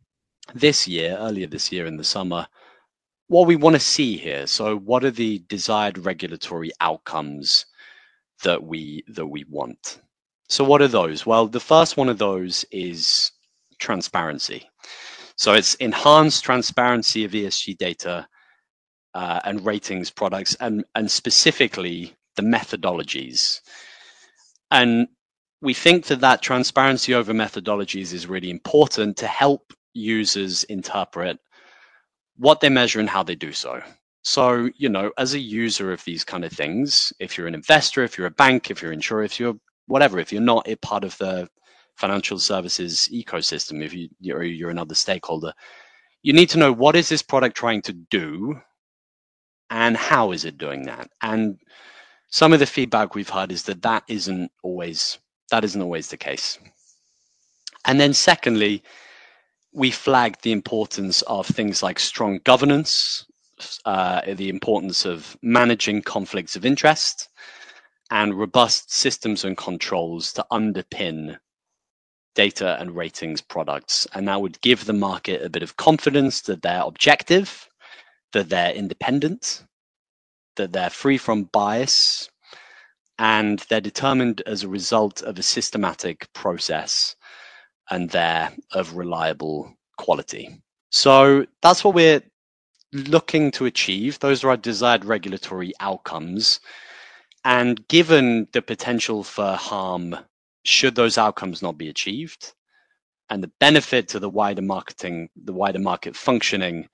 earlier this year in the summer, what we want to see here. So what are the desired regulatory outcomes that we want? So what are those? Well, the first one of those is transparency. So it's enhanced transparency of ESG data and ratings products, and specifically the methodologies. And we think that transparency over methodologies is really important to help users interpret what they measure and how they do so. So, you know, as a user of these kind of things, if you're an investor, if you're a bank, if you're an insurer, if you're whatever, if you're not a part of the financial services ecosystem, if you're another stakeholder, you need to know, what is this product trying to do and how is it doing that? And some of the feedback we've heard is that isn't always the case. And then secondly, we flagged the importance of things like strong governance, the importance of managing conflicts of interest, and robust systems and controls to underpin data and ratings products. And that would give the market a bit of confidence that they're objective, that they're independent, that they're free from bias, and they're determined as a result of a systematic process, and they're of reliable quality. So that's what we're looking to achieve. Those are our desired regulatory outcomes. And given the potential for harm should those outcomes not be achieved, and the benefit to the wider market functioning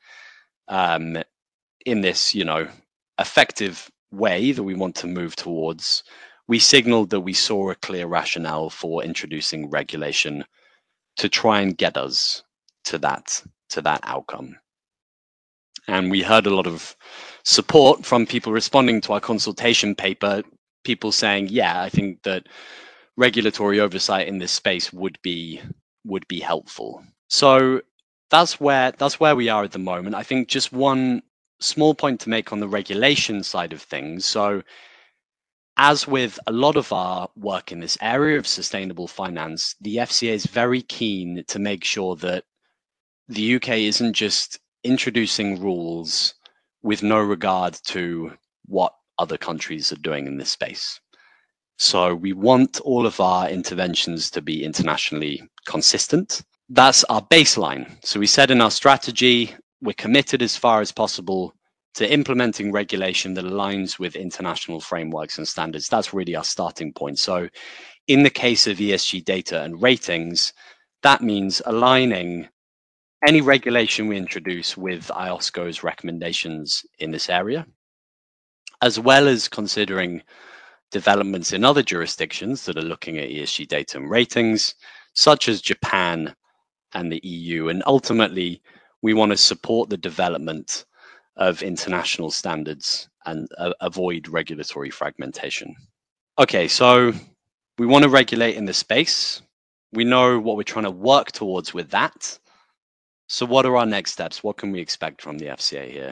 in this, effective way that we want to move towards, we signaled that we saw a clear rationale for introducing regulation to try and get us to that outcome. And we heard a lot of support from people responding to our consultation paper, people saying, yeah, I think that regulatory oversight in this space would be would be helpful. So that's where we are at the moment. I think just one small point to make on the regulation side of things. So as with a lot of our work in this area of sustainable finance, the FCA is very keen to make sure that the UK isn't just introducing rules with no regard to what other countries are doing in this space. So we want all of our interventions to be internationally consistent. That's our baseline. So we said in our strategy, we're committed as far as possible to implementing regulation that aligns with international frameworks and standards. That's really our starting point. So in the case of ESG data and ratings, that means aligning any regulation we introduce with IOSCO's recommendations in this area, as well as considering developments in other jurisdictions that are looking at ESG data and ratings, such as Japan and the EU. And ultimately, we want to support the development of international standards and avoid regulatory fragmentation. Okay, so we want to regulate in this space. We know what we're trying to work towards with that. So what are our next steps? What can we expect from the FCA here?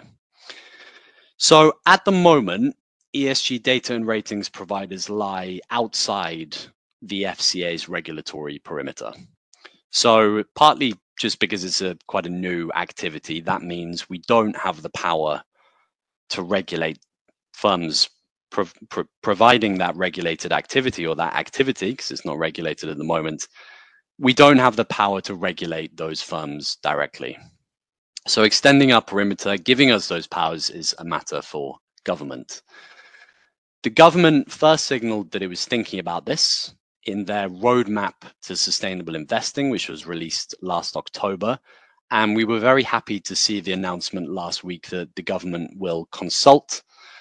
So at the moment, ESG data and ratings providers lie outside the FCA's regulatory perimeter. So partly just because it's quite a new activity, that means we don't have the power to regulate firms providing that regulated activity, or that activity, because it's not regulated at the moment. We don't have the power to regulate those firms directly. So extending our perimeter, giving us those powers, is a matter for government. The government first signaled that it was thinking about this in their roadmap to sustainable investing, which was released last October. And we were very happy to see the announcement last week that the government will consult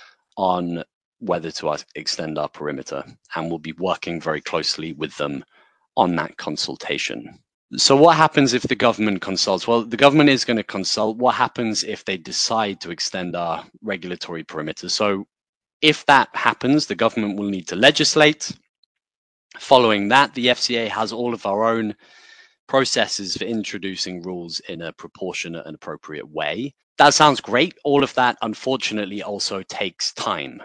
on whether to extend our perimeter, and we'll be working very closely with them on that consultation. So what happens if the government consults? Well, the government is going to consult. What happens if they decide to extend our regulatory perimeter? So if that happens, the government will need to legislate. Following that, the FCA has all of our own processes for introducing rules in a proportionate and appropriate way. That sounds great. All of that, unfortunately, also takes time.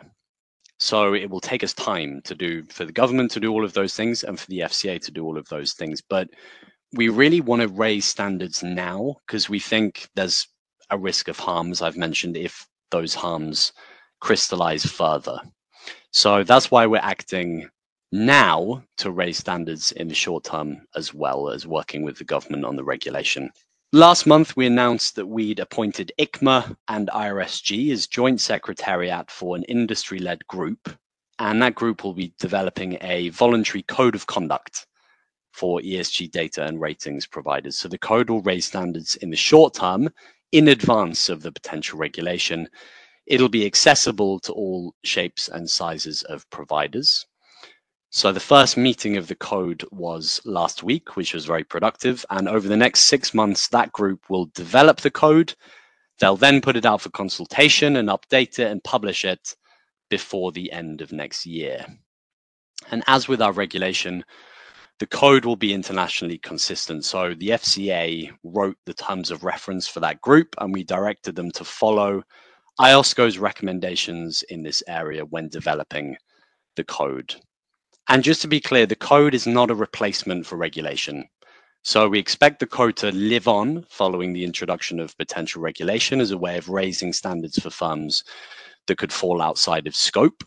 So it will take us time for the government to do all of those things and for the FCA to do all of those things. But we really want to raise standards now because we think there's a risk of harms, I've mentioned, if those harms crystallize further. So that's why we're acting now to raise standards in the short term, as well as working with the government on the regulation. Last month, we announced that we'd appointed ICMA and IRSG as joint secretariat for an industry-led group, and that group will be developing a voluntary code of conduct for ESG data and ratings providers. So the code will raise standards in the short term in advance of the potential regulation. It'll be accessible to all shapes and sizes of providers. So the first meeting of the code was last week, which was very productive. And over the next 6 months, that group will develop the code. They'll then put it out for consultation and update it and publish it before the end of next year. And as with our regulation, the code will be internationally consistent. So the FCA wrote the terms of reference for that group, and we directed them to follow IOSCO's recommendations in this area when developing the code. And just to be clear, the code is not a replacement for regulation. So we expect the code to live on following the introduction of potential regulation as a way of raising standards for firms that could fall outside of scope.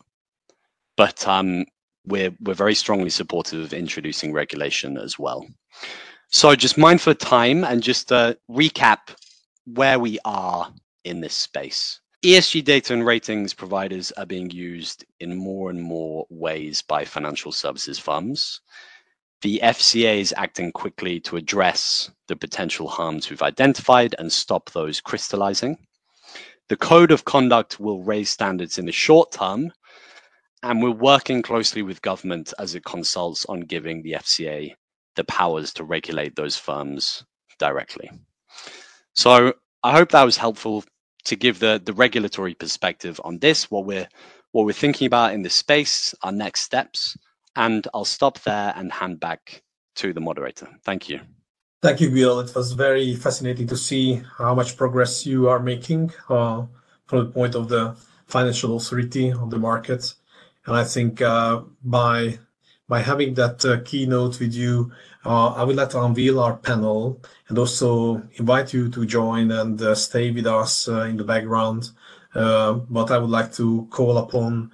But we're very strongly supportive of introducing regulation as well. So just mindful of time and just to recap where we are in this space. ESG data and ratings providers are being used in more and more ways by financial services firms. The FCA is acting quickly to address the potential harms we've identified and stop those crystallizing. The code of conduct will raise standards in the short term, and we're working closely with government as it consults on giving the FCA the powers to regulate those firms directly. So I hope that was helpful to give the regulatory perspective on this, what we're thinking about in this space, our next steps, and I'll stop there and hand back to the moderator. Thank you. Thank you, Bill. It was very fascinating to see how much progress you are making from the point of the financial authority of the market. And I think by having that keynote with you, I would like to unveil our panel and also invite you to join and stay with us in the background. But I would like to call upon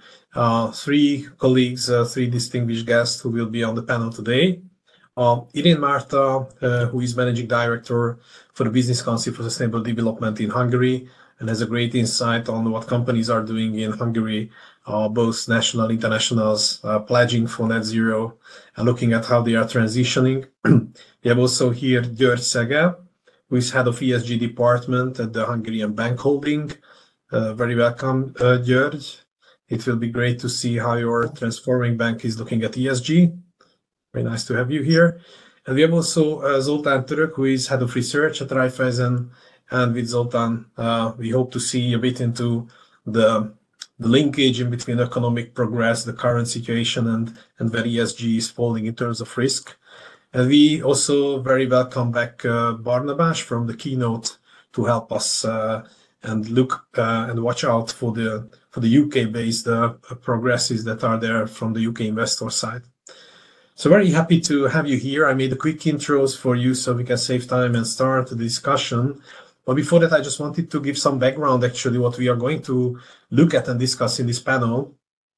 three colleagues, three distinguished guests who will be on the panel today. Irén Márta, who is Managing Director for the Business Council for Sustainable Development in Hungary and has a great insight on what companies are doing in Hungary, both national, internationals, pledging for net zero and looking at how they are transitioning. We have also here György Szege, who is Head of ESG Department at the Hungarian Bank Holding. Very welcome, György. It will be great to see how your transforming bank is looking at ESG. Very nice to have you here. And we have also Zoltán Török, who is Head of Research at Raiffeisen. And with Zoltán, we hope to see a bit into the linkage in between economic progress, the current situation, and where ESG is falling in terms of risk. And we also very welcome back Barnabás from the keynote to help us and look and watch out for the UK-based progresses that are there from the UK investor side. So very happy to have you here. I made a quick intros for you so we can save time and start the discussion. But before that, I just wanted to give some background, actually, what we are going to look at and discuss in this panel.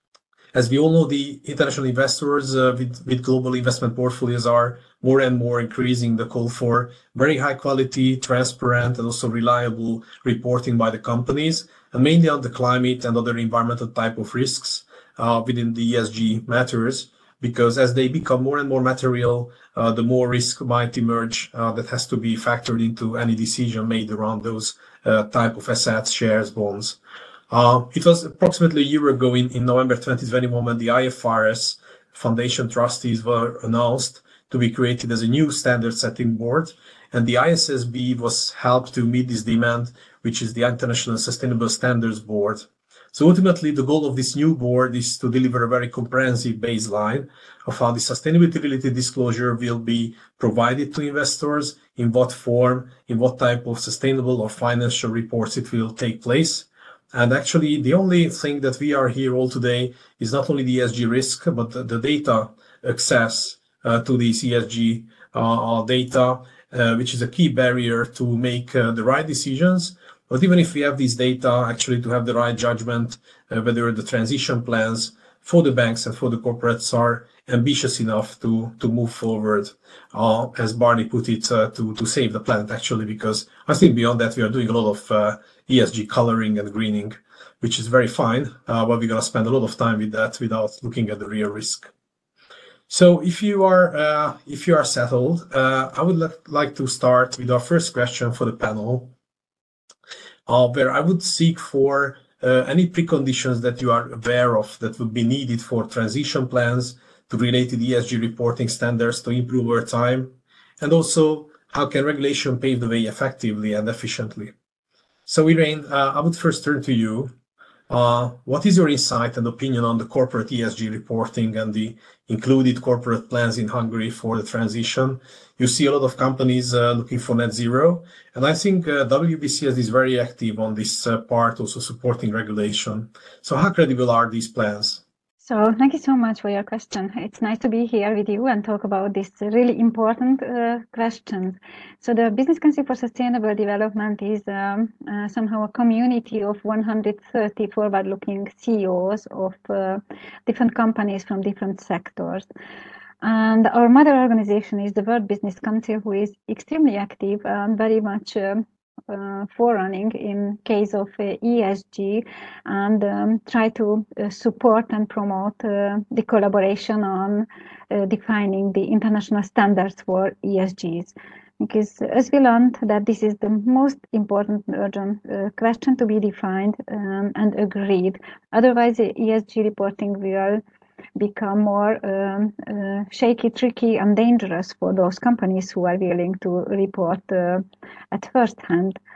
As we all know, the international investors with global investment portfolios are more and more increasing the call for very high quality, transparent, and also reliable reporting by the companies, and mainly on the climate and other environmental type of risks within the ESG matters. Because as they become more and more material, the more risk might emerge that has to be factored into any decision made around those type of assets, shares, bonds. It was approximately a year ago in November 2021 when the IFRS Foundation trustees were announced to be created as a new standard setting board. And the ISSB was helped to meet this demand, which is the International Sustainable Standards Board. So ultimately, the goal of this new board is to deliver a very comprehensive baseline of how the sustainability-related disclosure will be provided to investors, in what form, in what type of sustainable or financial reports it will take place. And actually, the only thing that we are here all today is not only the ESG risk, but the data access to these ESG data, which is a key barrier to make the right decisions. But even if we have these data, actually to have the right judgment, whether the transition plans for the banks and for the corporates are ambitious enough to move forward, as Barney put it, to save the planet, actually, because I think beyond that, we are doing a lot of ESG coloring and greening, which is very fine, but we're going to spend a lot of time with that without looking at the real risk. So if you are settled, I would like to start with our first question for the panel, where I would seek for any preconditions that you are aware of that would be needed for transition plans to related ESG reporting standards to improve over time, and also how can regulation pave the way effectively and efficiently. So Irén, I would first turn to you. What is your insight and opinion on the corporate ESG reporting and the included corporate plans in Hungary for the transition? You see a lot of companies looking for net zero, and I think WBCS is very active on this part, also supporting regulation. So how credible are these plans? So thank you so much for your question. It's nice to be here with you and talk about this really important questions. So the Business Council for Sustainable Development is somehow a community of 130 forward-looking CEOs of different companies from different sectors. And our mother organization is the World Business Council, who is extremely active and very much forerunning in case of ESG, and try to support and promote the collaboration on defining the international standards for ESGs. Because as we learned that this is the most important urgent question to be defined and agreed. Otherwise, ESG reporting will become more shaky, tricky, and dangerous for those companies who are willing to report at first hand.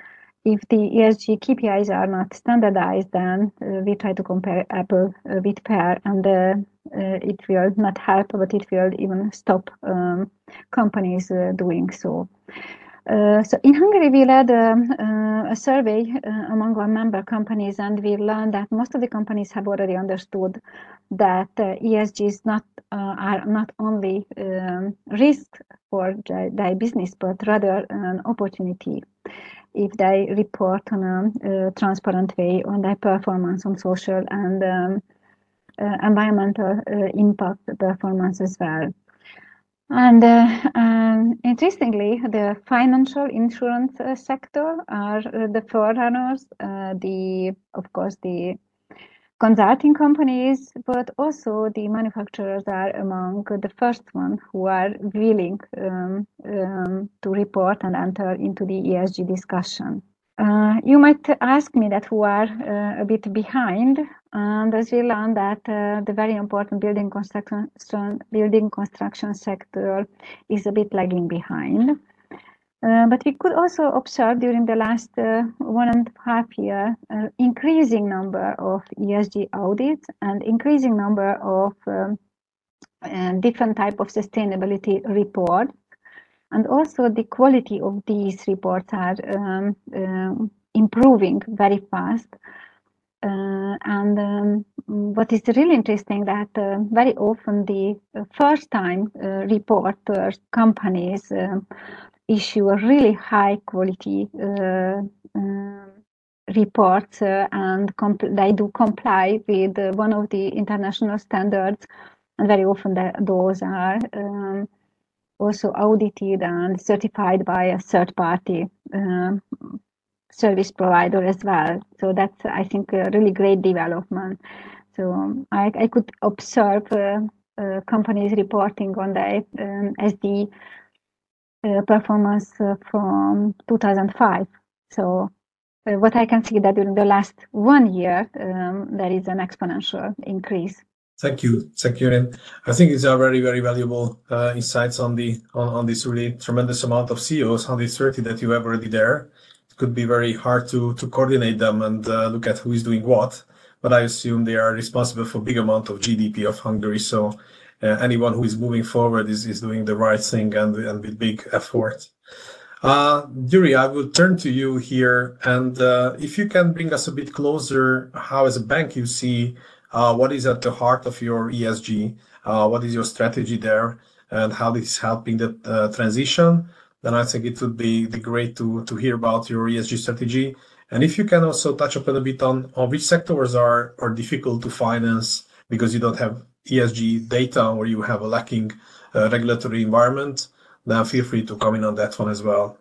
if the ESG KPIs are not standardized, then we try to compare apple with pear, and it will not help, but it will even stop companies doing so. So in Hungary, we led a survey among our member companies, and we learned that most of the companies have already understood that ESG is are not only risk for their business, but rather an opportunity if they report on a transparent way on their performance on social and environmental impact performance as well. And interestingly, the financial insurance sector are the forerunners. Of course, the consulting companies, but also the manufacturers are among the first ones who are willing to report and enter into the ESG discussion. You might ask me that who are a bit behind, and as we learned that the very important building construction sector is a bit lagging behind. But we could also observe during the last 1.5 years increasing number of ESG audits and increasing number of different type of sustainability reports. And also the quality of these reports are improving very fast. What is really interesting that very often the first-time reporters companies issue a really high quality reports and they do comply with one of the international standards, and very often those are also audited and certified by a third party service provider as well. So that's, I think, a really great development. So I could observe companies reporting on the SD performance from 2005. So what I can see that during the last 1 year, there is an exponential increase. Thank you, Irene. I think these are very, very valuable insights on this really tremendous amount of CEOs, 130 that you have already there. It could be very hard to coordinate them and look at who is doing what, but I assume they are responsible for a big amount of GDP of Hungary. So anyone who is moving forward is doing the right thing and with big effort. Yuri, I will turn to you here, and if you can bring us a bit closer, how as a bank you see what is at the heart of your ESG, what is your strategy there, and how this is helping the transition, then I think it would be great to hear about your ESG strategy. And if you can also touch upon a bit on which sectors are difficult to finance because you don't have ESG data or you have a lacking regulatory environment, then feel free to comment on that one as well.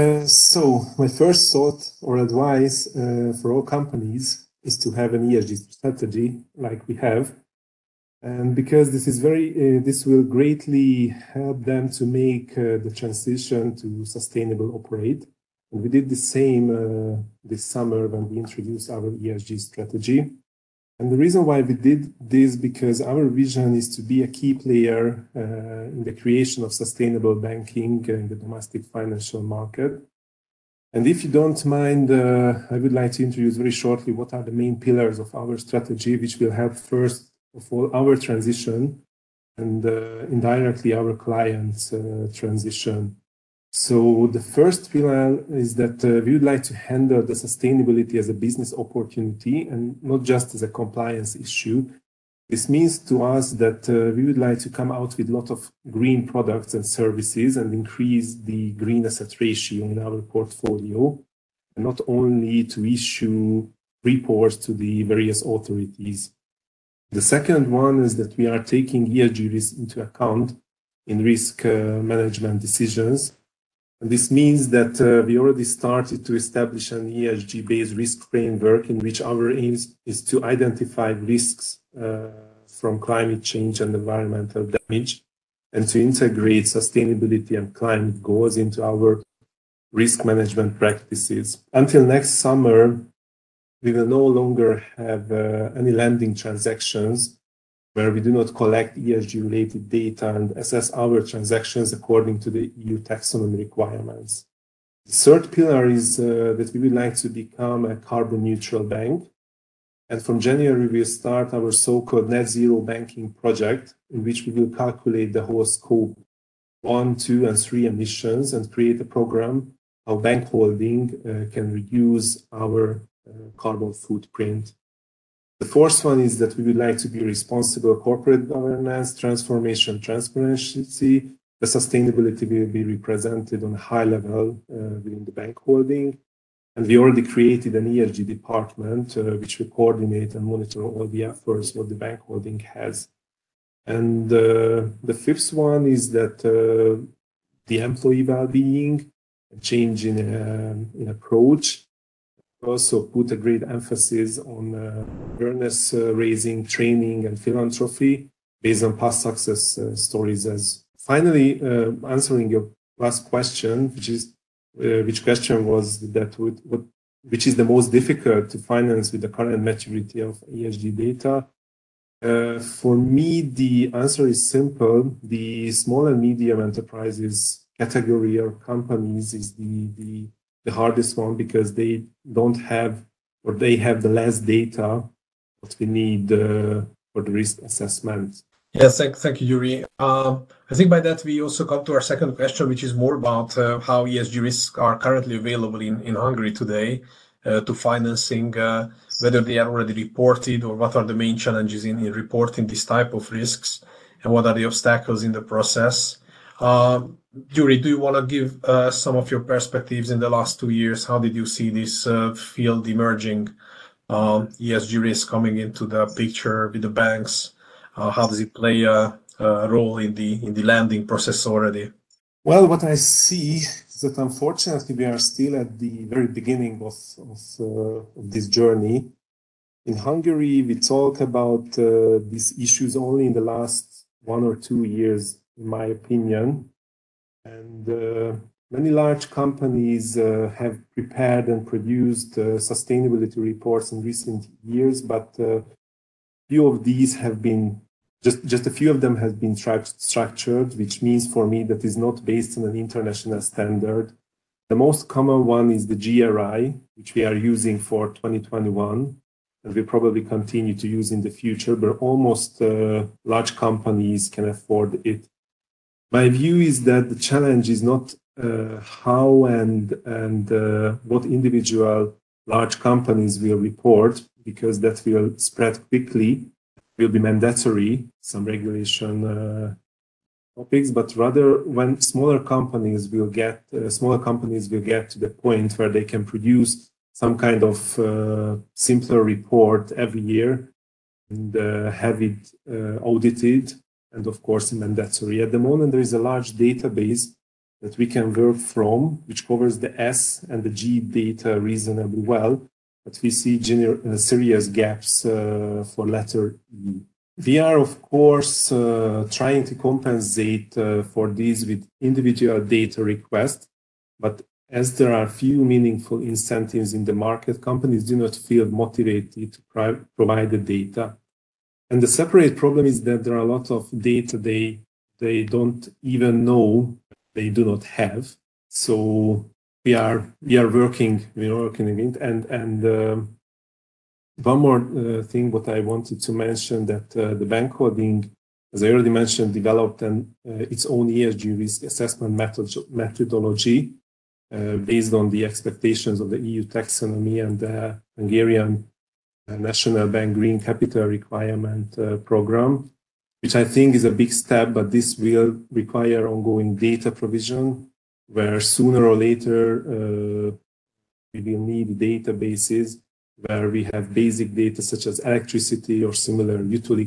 So my first thought or advice for all companies is to have an ESG strategy like we have, and because this will greatly help them to make the transition to sustainable operate. And we did the same this summer when we introduced our ESG strategy. And the reason why we did this, because our vision is to be a key player in the creation of sustainable banking in the domestic financial market. And if you don't mind, I would like to introduce very shortly what are the main pillars of our strategy, which will help first of all our transition and indirectly our clients' transition. So the first pillar is that we would like to handle the sustainability as a business opportunity and not just as a compliance issue. This means to us that we would like to come out with a lot of green products and services and increase the green asset ratio in our portfolio, and not only to issue reports to the various authorities. The second one is that we are taking ESG risk into account in risk management decisions. And this means that we already started to establish an ESG-based risk framework in which our aim is to identify risks from climate change and environmental damage, and to integrate sustainability and climate goals into our risk management practices. Until next summer, we will no longer have any lending transactions where we do not collect ESG-related data and assess our transactions according to the EU taxonomy requirements. The third pillar is that we would like to become a carbon neutral bank. And from January, we'll start our so-called net zero banking project, in which we will calculate the whole scope 1, 2, and 3 emissions and create a program how bank holding can reduce our carbon footprint. The fourth one is that we would like to be responsible corporate governance, transformation, transparency. The sustainability will be represented on a high level within the bank holding. And we already created an ESG department which will coordinate and monitor all the efforts what the bank holding has. And the fifth one is that the employee well-being, a change in approach, also put a great emphasis on awareness raising, training, and philanthropy based on past success stories. As finally, answering your last question, which question was that which is the most difficult to finance with the current maturity of ESG data? For me, the answer is simple. The small and medium enterprises category or companies is the hardest one because they don't have, or they have the less data what we need for the risk assessment. Yes, thank you, Yuri. I think by that we also come to our second question, which is more about how ESG risks are currently available in Hungary today to financing, whether they are already reported or what are the main challenges in reporting this type of risks and what are the obstacles in the process. Yuri, do you want to give some of your perspectives in the last 2 years? How did you see this field emerging, ESG risk coming into the picture with the banks? How does it play a role in the lending process already? Well, what I see is that unfortunately we are still at the very beginning of this journey. In Hungary, we talk about these issues only in the last 1 or 2 years, in my opinion. And many large companies have prepared and produced sustainability reports in recent years, but few of these have been, just a few of them have been structured, which means for me that is not based on an international standard. The most common one is the GRI, which we are using for 2021, and we probably continue to use in the future, but almost large companies can afford it. My view is that the challenge is not how and what individual large companies will report, because that will spread quickly, will be mandatory, some regulation topics, but rather when smaller companies will get to the point where they can produce some kind of simpler report every year and have it audited, and of course mandatory. At the moment, there is a large database that we can work from, which covers the S and the G data reasonably well, but we see serious gaps for letter E. We are, of course, trying to compensate for these with individual data requests, but as there are few meaningful incentives in the market, companies do not feel motivated to provide the data. And the separate problem is that there are a lot of data they don't even know they do not have. So we are working on it. And one more thing what I wanted to mention, that the bank holding, as I already mentioned, developed its own ESG risk assessment methodology based on the expectations of the EU taxonomy and the Hungarian National Bank Green Capital Requirement Program, which I think is a big step, but this will require ongoing data provision, where sooner or later we will need databases where we have basic data such as electricity or similar utility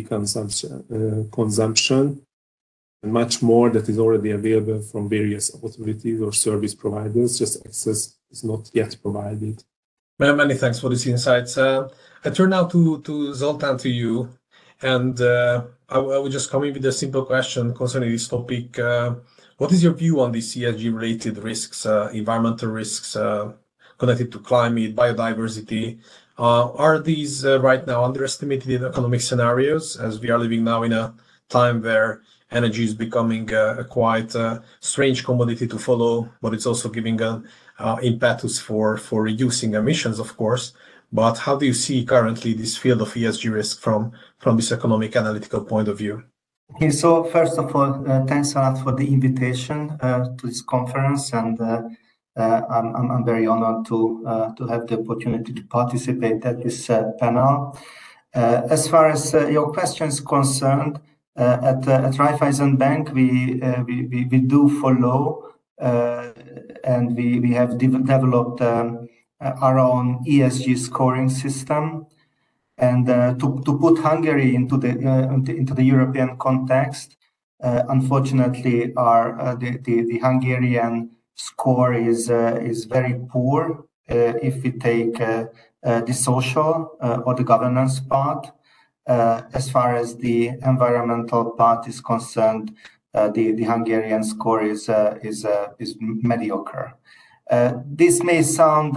consumption, and much more that is already available from various authorities or service providers, just access is not yet provided. Many thanks for these insights. I turn now to Zoltan, to you, and I will just come in with a simple question concerning this topic. What is your view on these ESG-related risks, environmental risks connected to climate, biodiversity? Are these right now underestimated in economic scenarios, as we are living now in a time where energy is becoming a quite strange commodity to follow, but it's also giving an impetus for reducing emissions, of course. But how do you see currently this field of ESG risk from this economic analytical point of view? Okay, so first of all, thanks a lot for the invitation to this conference, and I'm very honored to have the opportunity to participate at this panel. As far as your question is concerned, at Raiffeisen Bank, we do follow and we have developed our own ESG scoring system. And to put Hungary into the European context, unfortunately, the Hungarian score is very poor if we take the social or the governance part. As far as the environmental part is concerned, the Hungarian score is mediocre. This may sound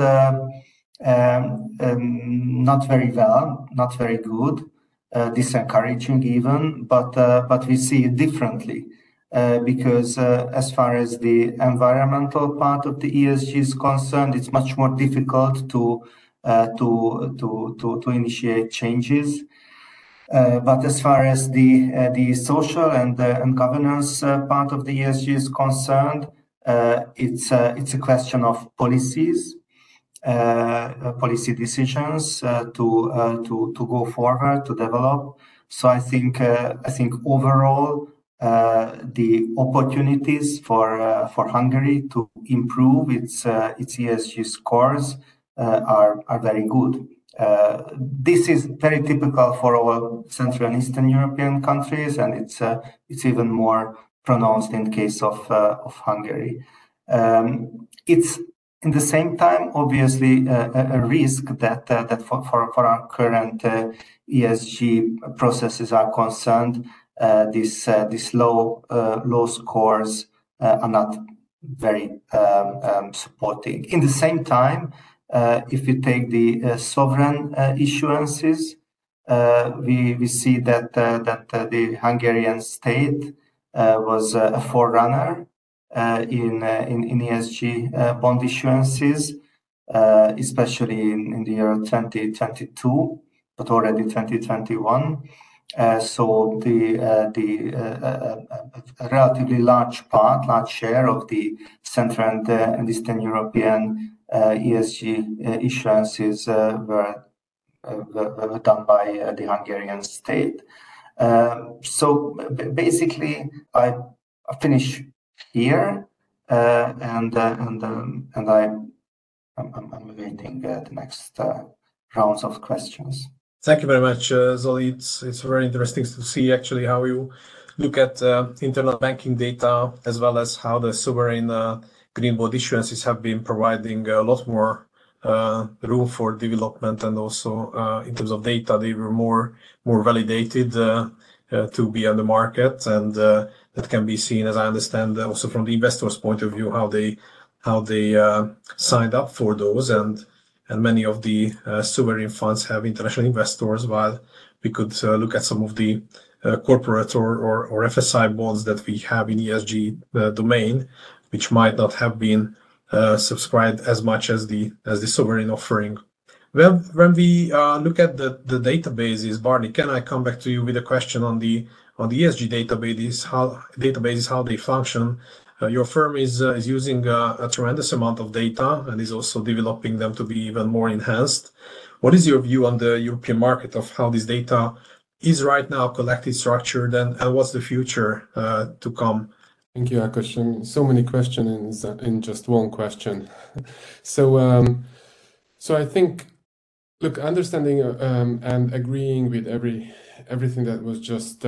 not very well, not very good, disencouraging even, but we see it differently because as far as the environmental part of the ESG is concerned, it's much more difficult to initiate changes. But as far as the social and governance part of the ESG is concerned, it's a question of policies. Policy decisions to go forward, to develop. So I think overall the opportunities for Hungary to improve its ESG scores are very good. This is very typical for all Central and Eastern European countries, and it's even more pronounced in the case of Hungary. It's in the same time, obviously, a risk that for our current ESG processes are concerned, these low scores are not very supporting. In the same time, if you take the sovereign issuances, we see that the Hungarian state was a forerunner in ESG bond issuances, especially in the year 2022, but already 2021. So a relatively large share of the Central and Eastern European ESG issuances were done by the Hungarian state. So basically, I finish here, and I'm awaiting the next rounds of questions. Thank you very much, Zoli. It's very interesting to see actually how you look at internal banking data, as well as how the sovereign green bond issuances have been providing a lot more room for development, and also in terms of data, they were more validated to be on the market, and that can be seen, as I understand, also from the investors' point of view, how they signed up for those, and many of the sovereign funds have international investors, while we could look at some of the corporate or FSI bonds that we have in ESG domain, which might not have been subscribed as much as the sovereign offering. When we look at the databases, Barney, can I come back to you with a question on the ESG databases, how they function? Your firm is using a tremendous amount of data and is also developing them to be even more enhanced. What is your view on the European market of how this data is right now collected, structured, and what's the future to come? Thank you, Ákos. So many questions in just one question. So I think, look, understanding and agreeing with everything that was just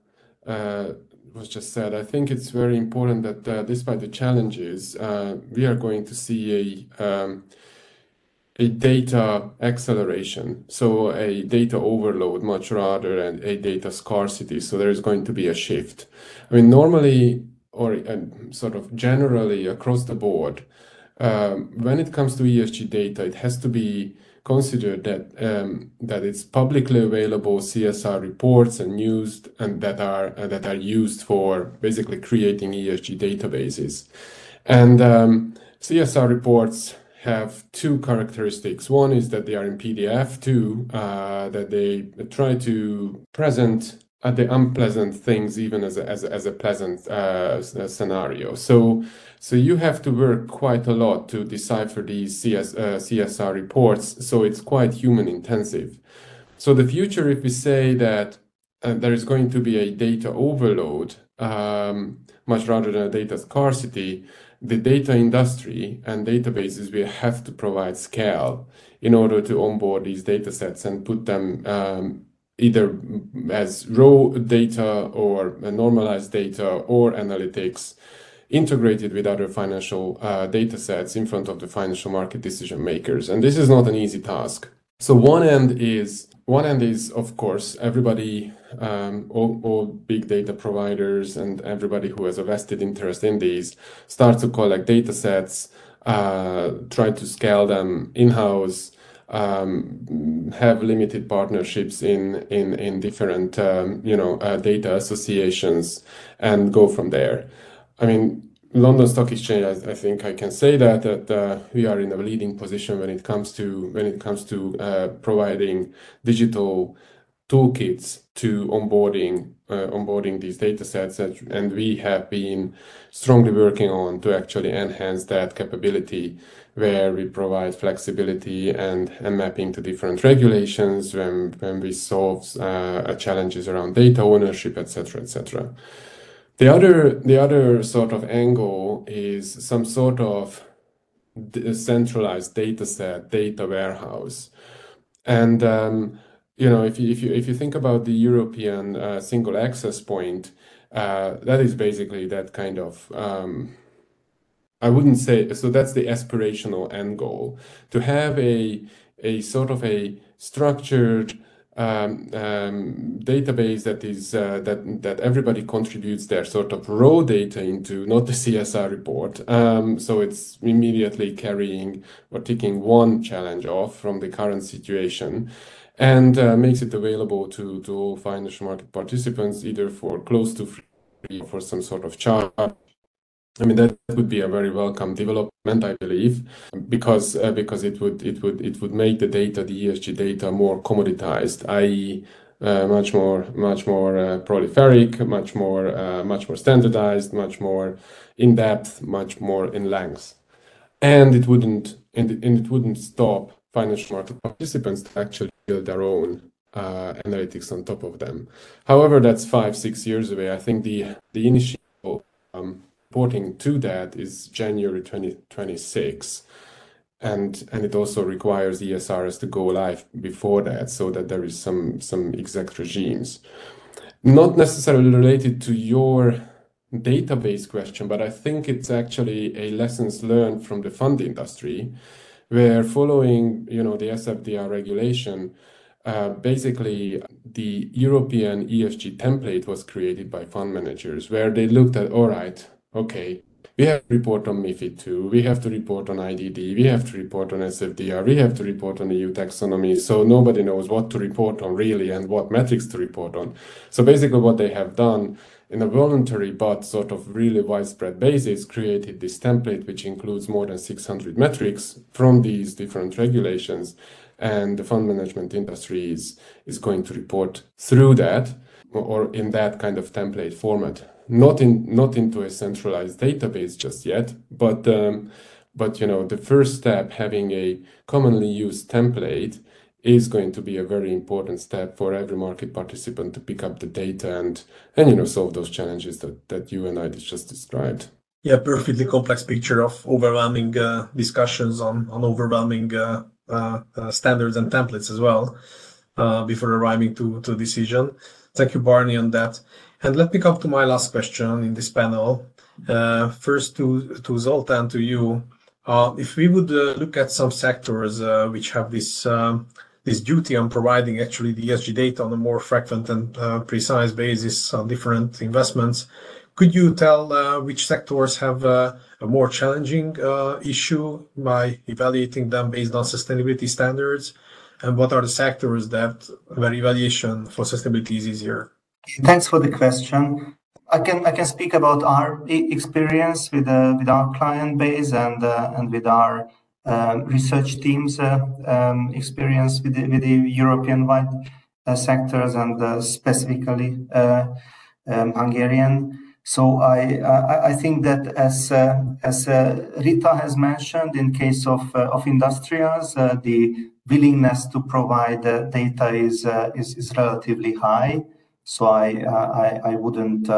said, I think it's very important that despite the challenges, we are going to see a data acceleration, so a data overload much rather than a data scarcity. So there is going to be a shift. I mean, normally, or sort of generally across the board, when it comes to ESG data, it has to be considered that it's publicly available CSR reports and used and that are used for basically creating ESG databases. And CSR reports have two characteristics. One is that they are in PDF. Two, that they try to present the unpleasant things even as a pleasant scenario. So you have to work quite a lot to decipher these CSR reports. So it's quite human intensive. So the future, if we say that there is going to be a data overload, much rather than a data scarcity, the data industry and databases will have to provide scale in order to onboard these data sets and put them either as raw data or normalized data or analytics integrated with other financial data sets in front of the financial market decision makers. And this is not an easy task. So one end is, of course, everybody, all big data providers and everybody who has a vested interest in these start to collect data sets, try to scale them in-house, have limited partnerships in different data associations and go from there. I mean, London Stock Exchange, I think I can say that we are in a leading position when it comes to providing digital toolkits to onboarding these data sets, and we have been strongly working on to actually enhance that capability, where we provide flexibility and mapping to different regulations when we solve challenges around data ownership, etc., etc. The other sort of angle is some sort of centralized data set, data warehouse, and if you think about the European single access point, that is basically that kind of. I wouldn't say so. That's the aspirational end goal, to have a sort of a structured database that is that everybody contributes their sort of raw data into, not the CSR report. So it's immediately carrying or ticking one challenge off from the current situation, and makes it available to all financial market participants, either for close to free or for some sort of charge. I mean, that would be a very welcome development, I believe, because it would make the data, the ESG data, more commoditized, i.e., much more prolific, much more standardized, much more in depth, much more in length, and it wouldn't stop financial market participants to actually build their own analytics on top of them. However, that's 5-6 years away. I think the initial reporting to that is January 2026, and it also requires ESRS to go live before that, so that there is some exact regimes. Not necessarily related to your database question, but I think it's actually a lessons learned from the fund industry, where following the SFDR regulation, basically the European ESG template was created by fund managers, where they looked at, all right, okay, we have to report on MiFID II, we have to report on IDD, we have to report on SFDR, we have to report on EU taxonomy, so nobody knows what to report on really and what metrics to report on. So basically what they have done in a voluntary but sort of really widespread basis, created this template which includes more than 600 metrics from these different regulations, and the fund management industry is going to report through that, or in that kind of template format. Not into a centralized database just yet, but the first step, having a commonly used template, is going to be a very important step for every market participant to pick up the data and solve those challenges that you and I just described. Yeah, perfectly complex picture of overwhelming discussions on overwhelming standards and templates as well before arriving to a decision. Thank you, Barney, on that. And let me come to my last question in this panel. First to Zoltan, to you. If we would look at some sectors which have this duty on providing actually the ESG data on a more frequent and precise basis on different investments, Could you tell which sectors have a more challenging issue by evaluating them based on sustainability standards? And what are the sectors where evaluation for sustainability is easier? Thanks for the question. I can speak about our experience with our client base and with our research team's experience with the European-wide sectors and specifically Hungarian. So I think that as Rita has mentioned, in case of industrials, the willingness to provide data is relatively high. So I wouldn't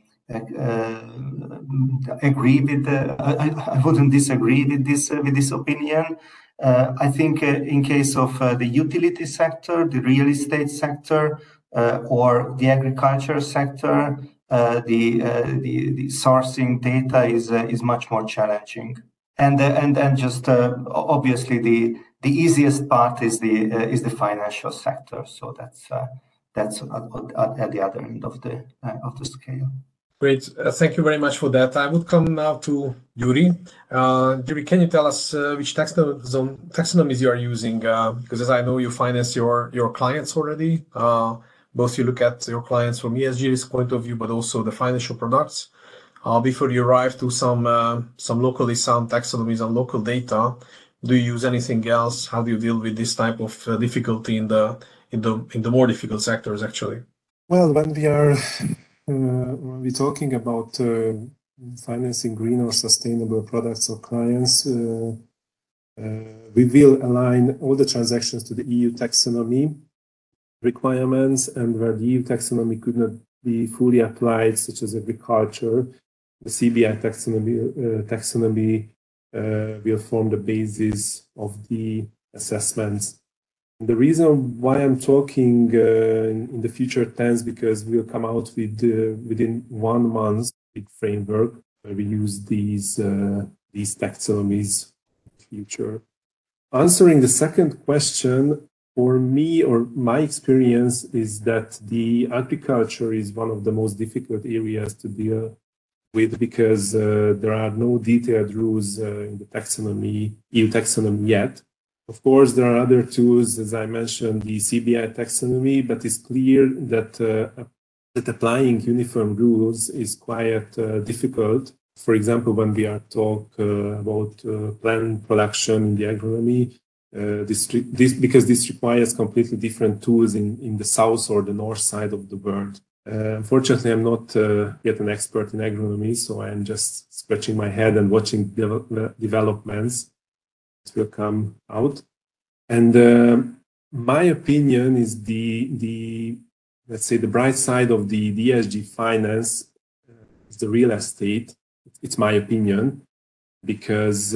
agree with I wouldn't disagree with this opinion. I think in case of the utility sector, the real estate sector, or the agriculture sector, the sourcing data is much more challenging. And just obviously the easiest part is the financial sector. So that's at the other end of the scale. Great. Thank you very much for that. I would come now to Yuri. Yuri, can you tell us which taxonomies you are using? Because as I know, you finance your clients already. Both you look at your clients from ESG risk point of view, but also the financial products. Before you arrive to some locally sound taxonomies and local data, do you use anything else? How do you deal with this type of difficulty in the more difficult sectors, actually? Well, when we're talking about financing green or sustainable products or clients, we will align all the transactions to the EU taxonomy requirements, and where the EU taxonomy could not be fully applied, such as agriculture, the CBI taxonomy will form the basis of the assessments. And the reason why I'm talking in the future tense, because we'll come out with within 1 month big framework where we use these taxonomies in the future. Answering the second question, for me, or my experience is that the agriculture is one of the most difficult areas to deal with, because there are no detailed rules in the taxonomy, EU taxonomy yet. Of course, there are other tools, as I mentioned, the CBI taxonomy, but it's clear that applying uniform rules is quite difficult. For example, when we are talking about plant production in the agronomy, because this requires completely different tools in the south or the north side of the world. Unfortunately, I'm not yet an expert in agronomy, so I'm just scratching my head and watching developments that will come out. And my opinion is the let's say the bright side of the ESG finance is the real estate. It's my opinion, because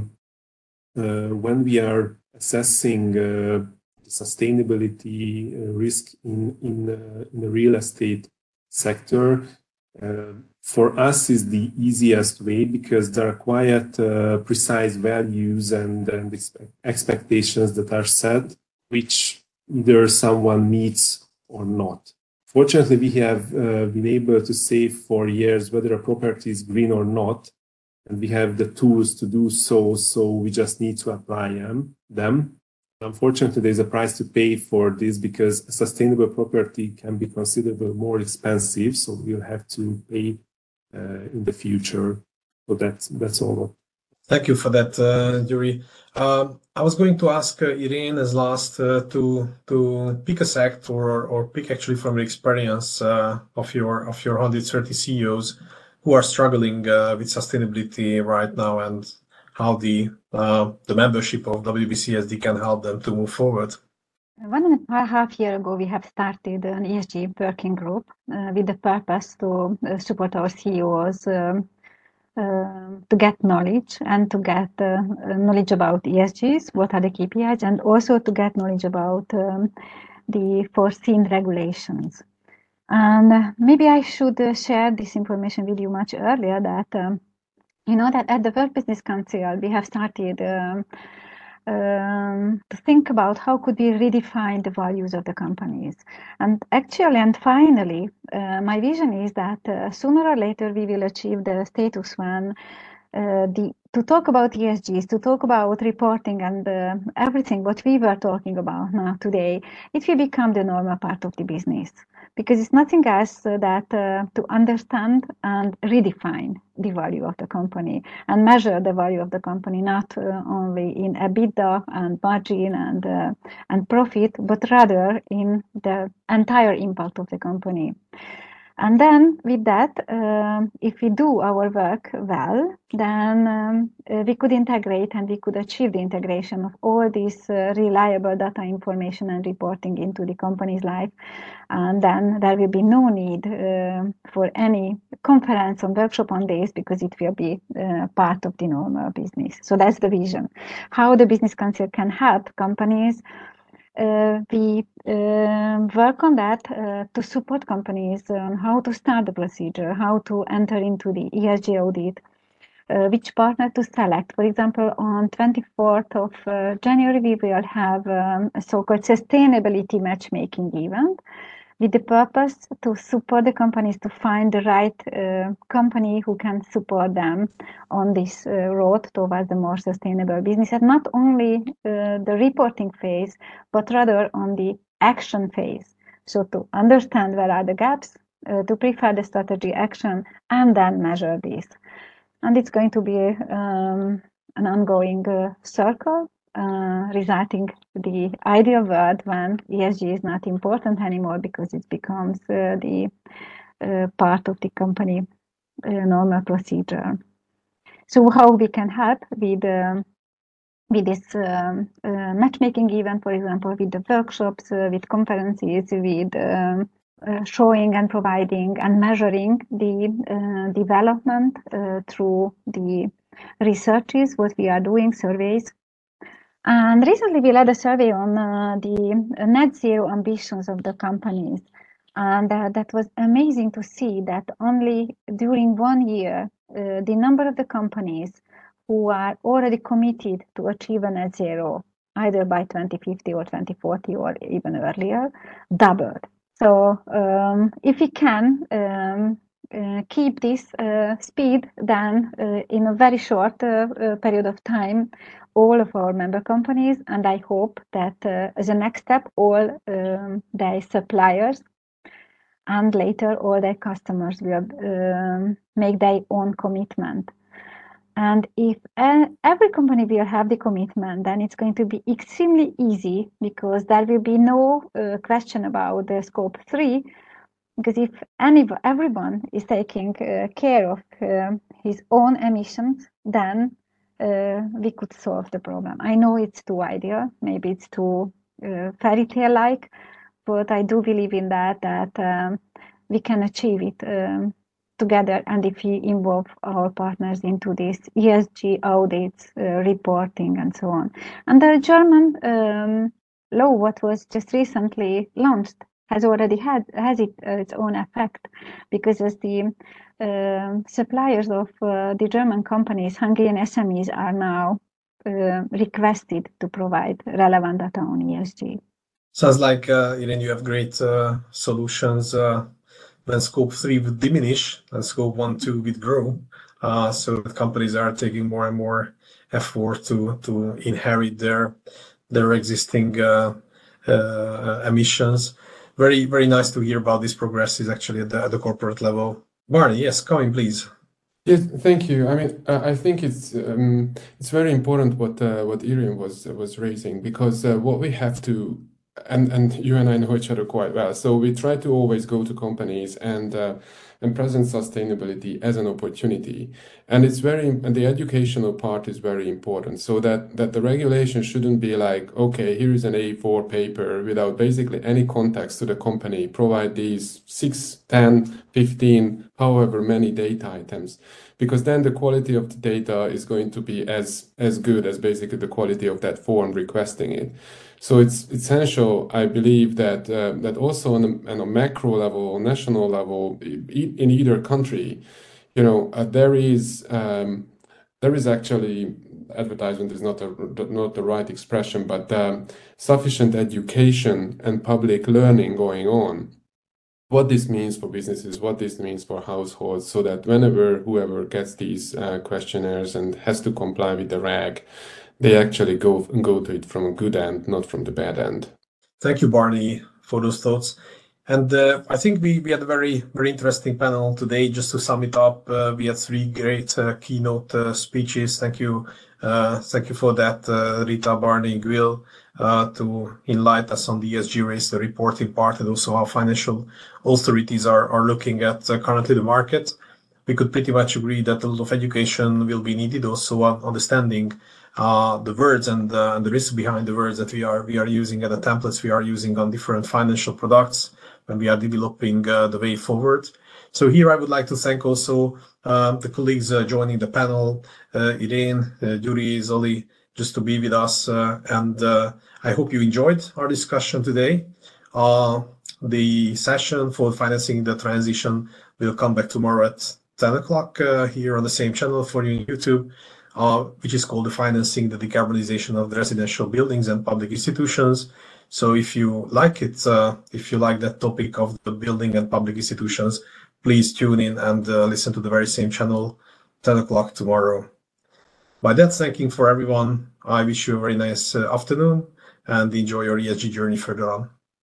when we are assessing the sustainability risk in the real estate sector, for us is the easiest way, because there are quite precise values and expectations that are set, which either someone meets or not. Fortunately, we have been able to say for years whether a property is green or not, and we have the tools to do so, so we just need to apply them. Unfortunately, there's a price to pay for this, because a sustainable property can be considerably more expensive, so we'll have to pay in the future. So that's all. Thank you for that, Yuri. I was going to ask Irene as last to pick a sector or pick actually from the experience of your 130 CEOs who are struggling with sustainability right now, and how the membership of WBCSD can help them to move forward. 1.5 years ago, we have started an ESG working group with the purpose to support our CEOs to get knowledge and to get knowledge about ESGs, what are the KPIs, and also to get knowledge about the foreseen regulations. And maybe I should share this information with you much earlier, that you know that at the World Business Council we have started to think about how could we redefine the values of the companies. And actually, and finally, my vision is that sooner or later we will achieve the status when to talk about ESGs, to talk about reporting and everything what we were talking about now today, it will become the normal part of the business. Because it's nothing else that to understand and redefine the value of the company and measure the value of the company, not only in EBITDA and margin and profit, but rather in the entire impact of the company. And then with that, if we do our work well, then we could integrate and we could achieve the integration of all this reliable data information and reporting into the company's life. And then there will be no need for any conference or workshop on this because it will be part of the normal business. So that's the vision. How the Business Council can help companies. We work on that to support companies on how to start the procedure, how to enter into the ESG audit, which partner to select. For example, on 24th of January, we will have a so-called sustainability matchmaking event with the purpose to support the companies to find the right company who can support them on this road towards the more sustainable business, and not only the reporting phase, but rather on the action phase. So to understand where are the gaps, to prepare the strategy action, and then measure this. And it's going to be an ongoing circle, resulting the ideal world when ESG is not important anymore because it becomes the part of the company normal procedure. So how we can help with this matchmaking event, for example, with the workshops, with conferences, with showing and providing and measuring the development through the researches, what we are doing, surveys. And recently we led a survey on the net zero ambitions of the companies. And that was amazing to see that only during 1 year, the number of the companies who are already committed to achieve a net zero, either by 2050 or 2040 or even earlier, doubled. So if we can keep this speed, then in a very short period of time, all of our member companies, and I hope that as a next step, all their suppliers and later all their customers will make their own commitment. And if every company will have the commitment, then it's going to be extremely easy because there will be no question about the scope 3. Because if everyone is taking care of his own emissions, then we could solve the problem. I know it's too ideal, maybe it's too fairy tale-like, but I do believe in that we can achieve it together, and if we involve our partners into this ESG audits, reporting, and so on. And the German law, what was just recently launched, has already has its own effect, because as the suppliers of the German companies, Hungarian SMEs are now requested to provide relevant data on ESG. Sounds like, Irene, you have great solutions when scope 3 would diminish and scope 1, 2 would grow. So that companies are taking more and more effort to inherit their existing emissions. Very, very nice to hear about this progress is actually at the corporate level. Barney, yes, come in, please. Yes, thank you. I mean, I think it's very important what Irene was raising, because what we have to, and you and I know each other quite well, so we try to always go to companies and present sustainability as an opportunity, and the educational part is very important, so that the regulation shouldn't be like, okay, here is an A4 paper without basically any context to the company, provide these 6, 10, 15, however many data items, because then the quality of the data is going to be as good as basically the quality of that form requesting it. So it's essential, I believe, that also on a macro level, national level, in either country, there is actually advertisement is not the right expression, but sufficient education and public learning going on. What this means for businesses, what this means for households, so that whoever gets these questionnaires and has to comply with the RAG, they actually go to it from a good end, not from the bad end. Thank you, Barney, for those thoughts. And I think we had a very, very interesting panel today. Just to sum it up, we had 3 great keynote speeches. Thank you for that, Rita, Barney, Gwyll, to enlighten us on the ESG race, the reporting part, and also how financial authorities are looking at currently the market. We could pretty much agree that a lot of education will be needed, also understanding the words and the risk behind the words that we are using and the templates we are using on different financial products when we are developing the way forward. So here I would like to thank also the colleagues joining the panel, Irene, Yuri, Zoli, just to be with us. And I hope you enjoyed our discussion today. The session for financing the transition will come back tomorrow at 10 o'clock here on the same channel for you on YouTube, which is called the Financing the Decarbonization of the Residential Buildings and Public Institutions. So if you like it, if you like that topic of the building and public institutions, please tune in and listen to the very same channel, 10 o'clock tomorrow. By that, thanking for everyone, I wish you a very nice afternoon and enjoy your ESG journey further on.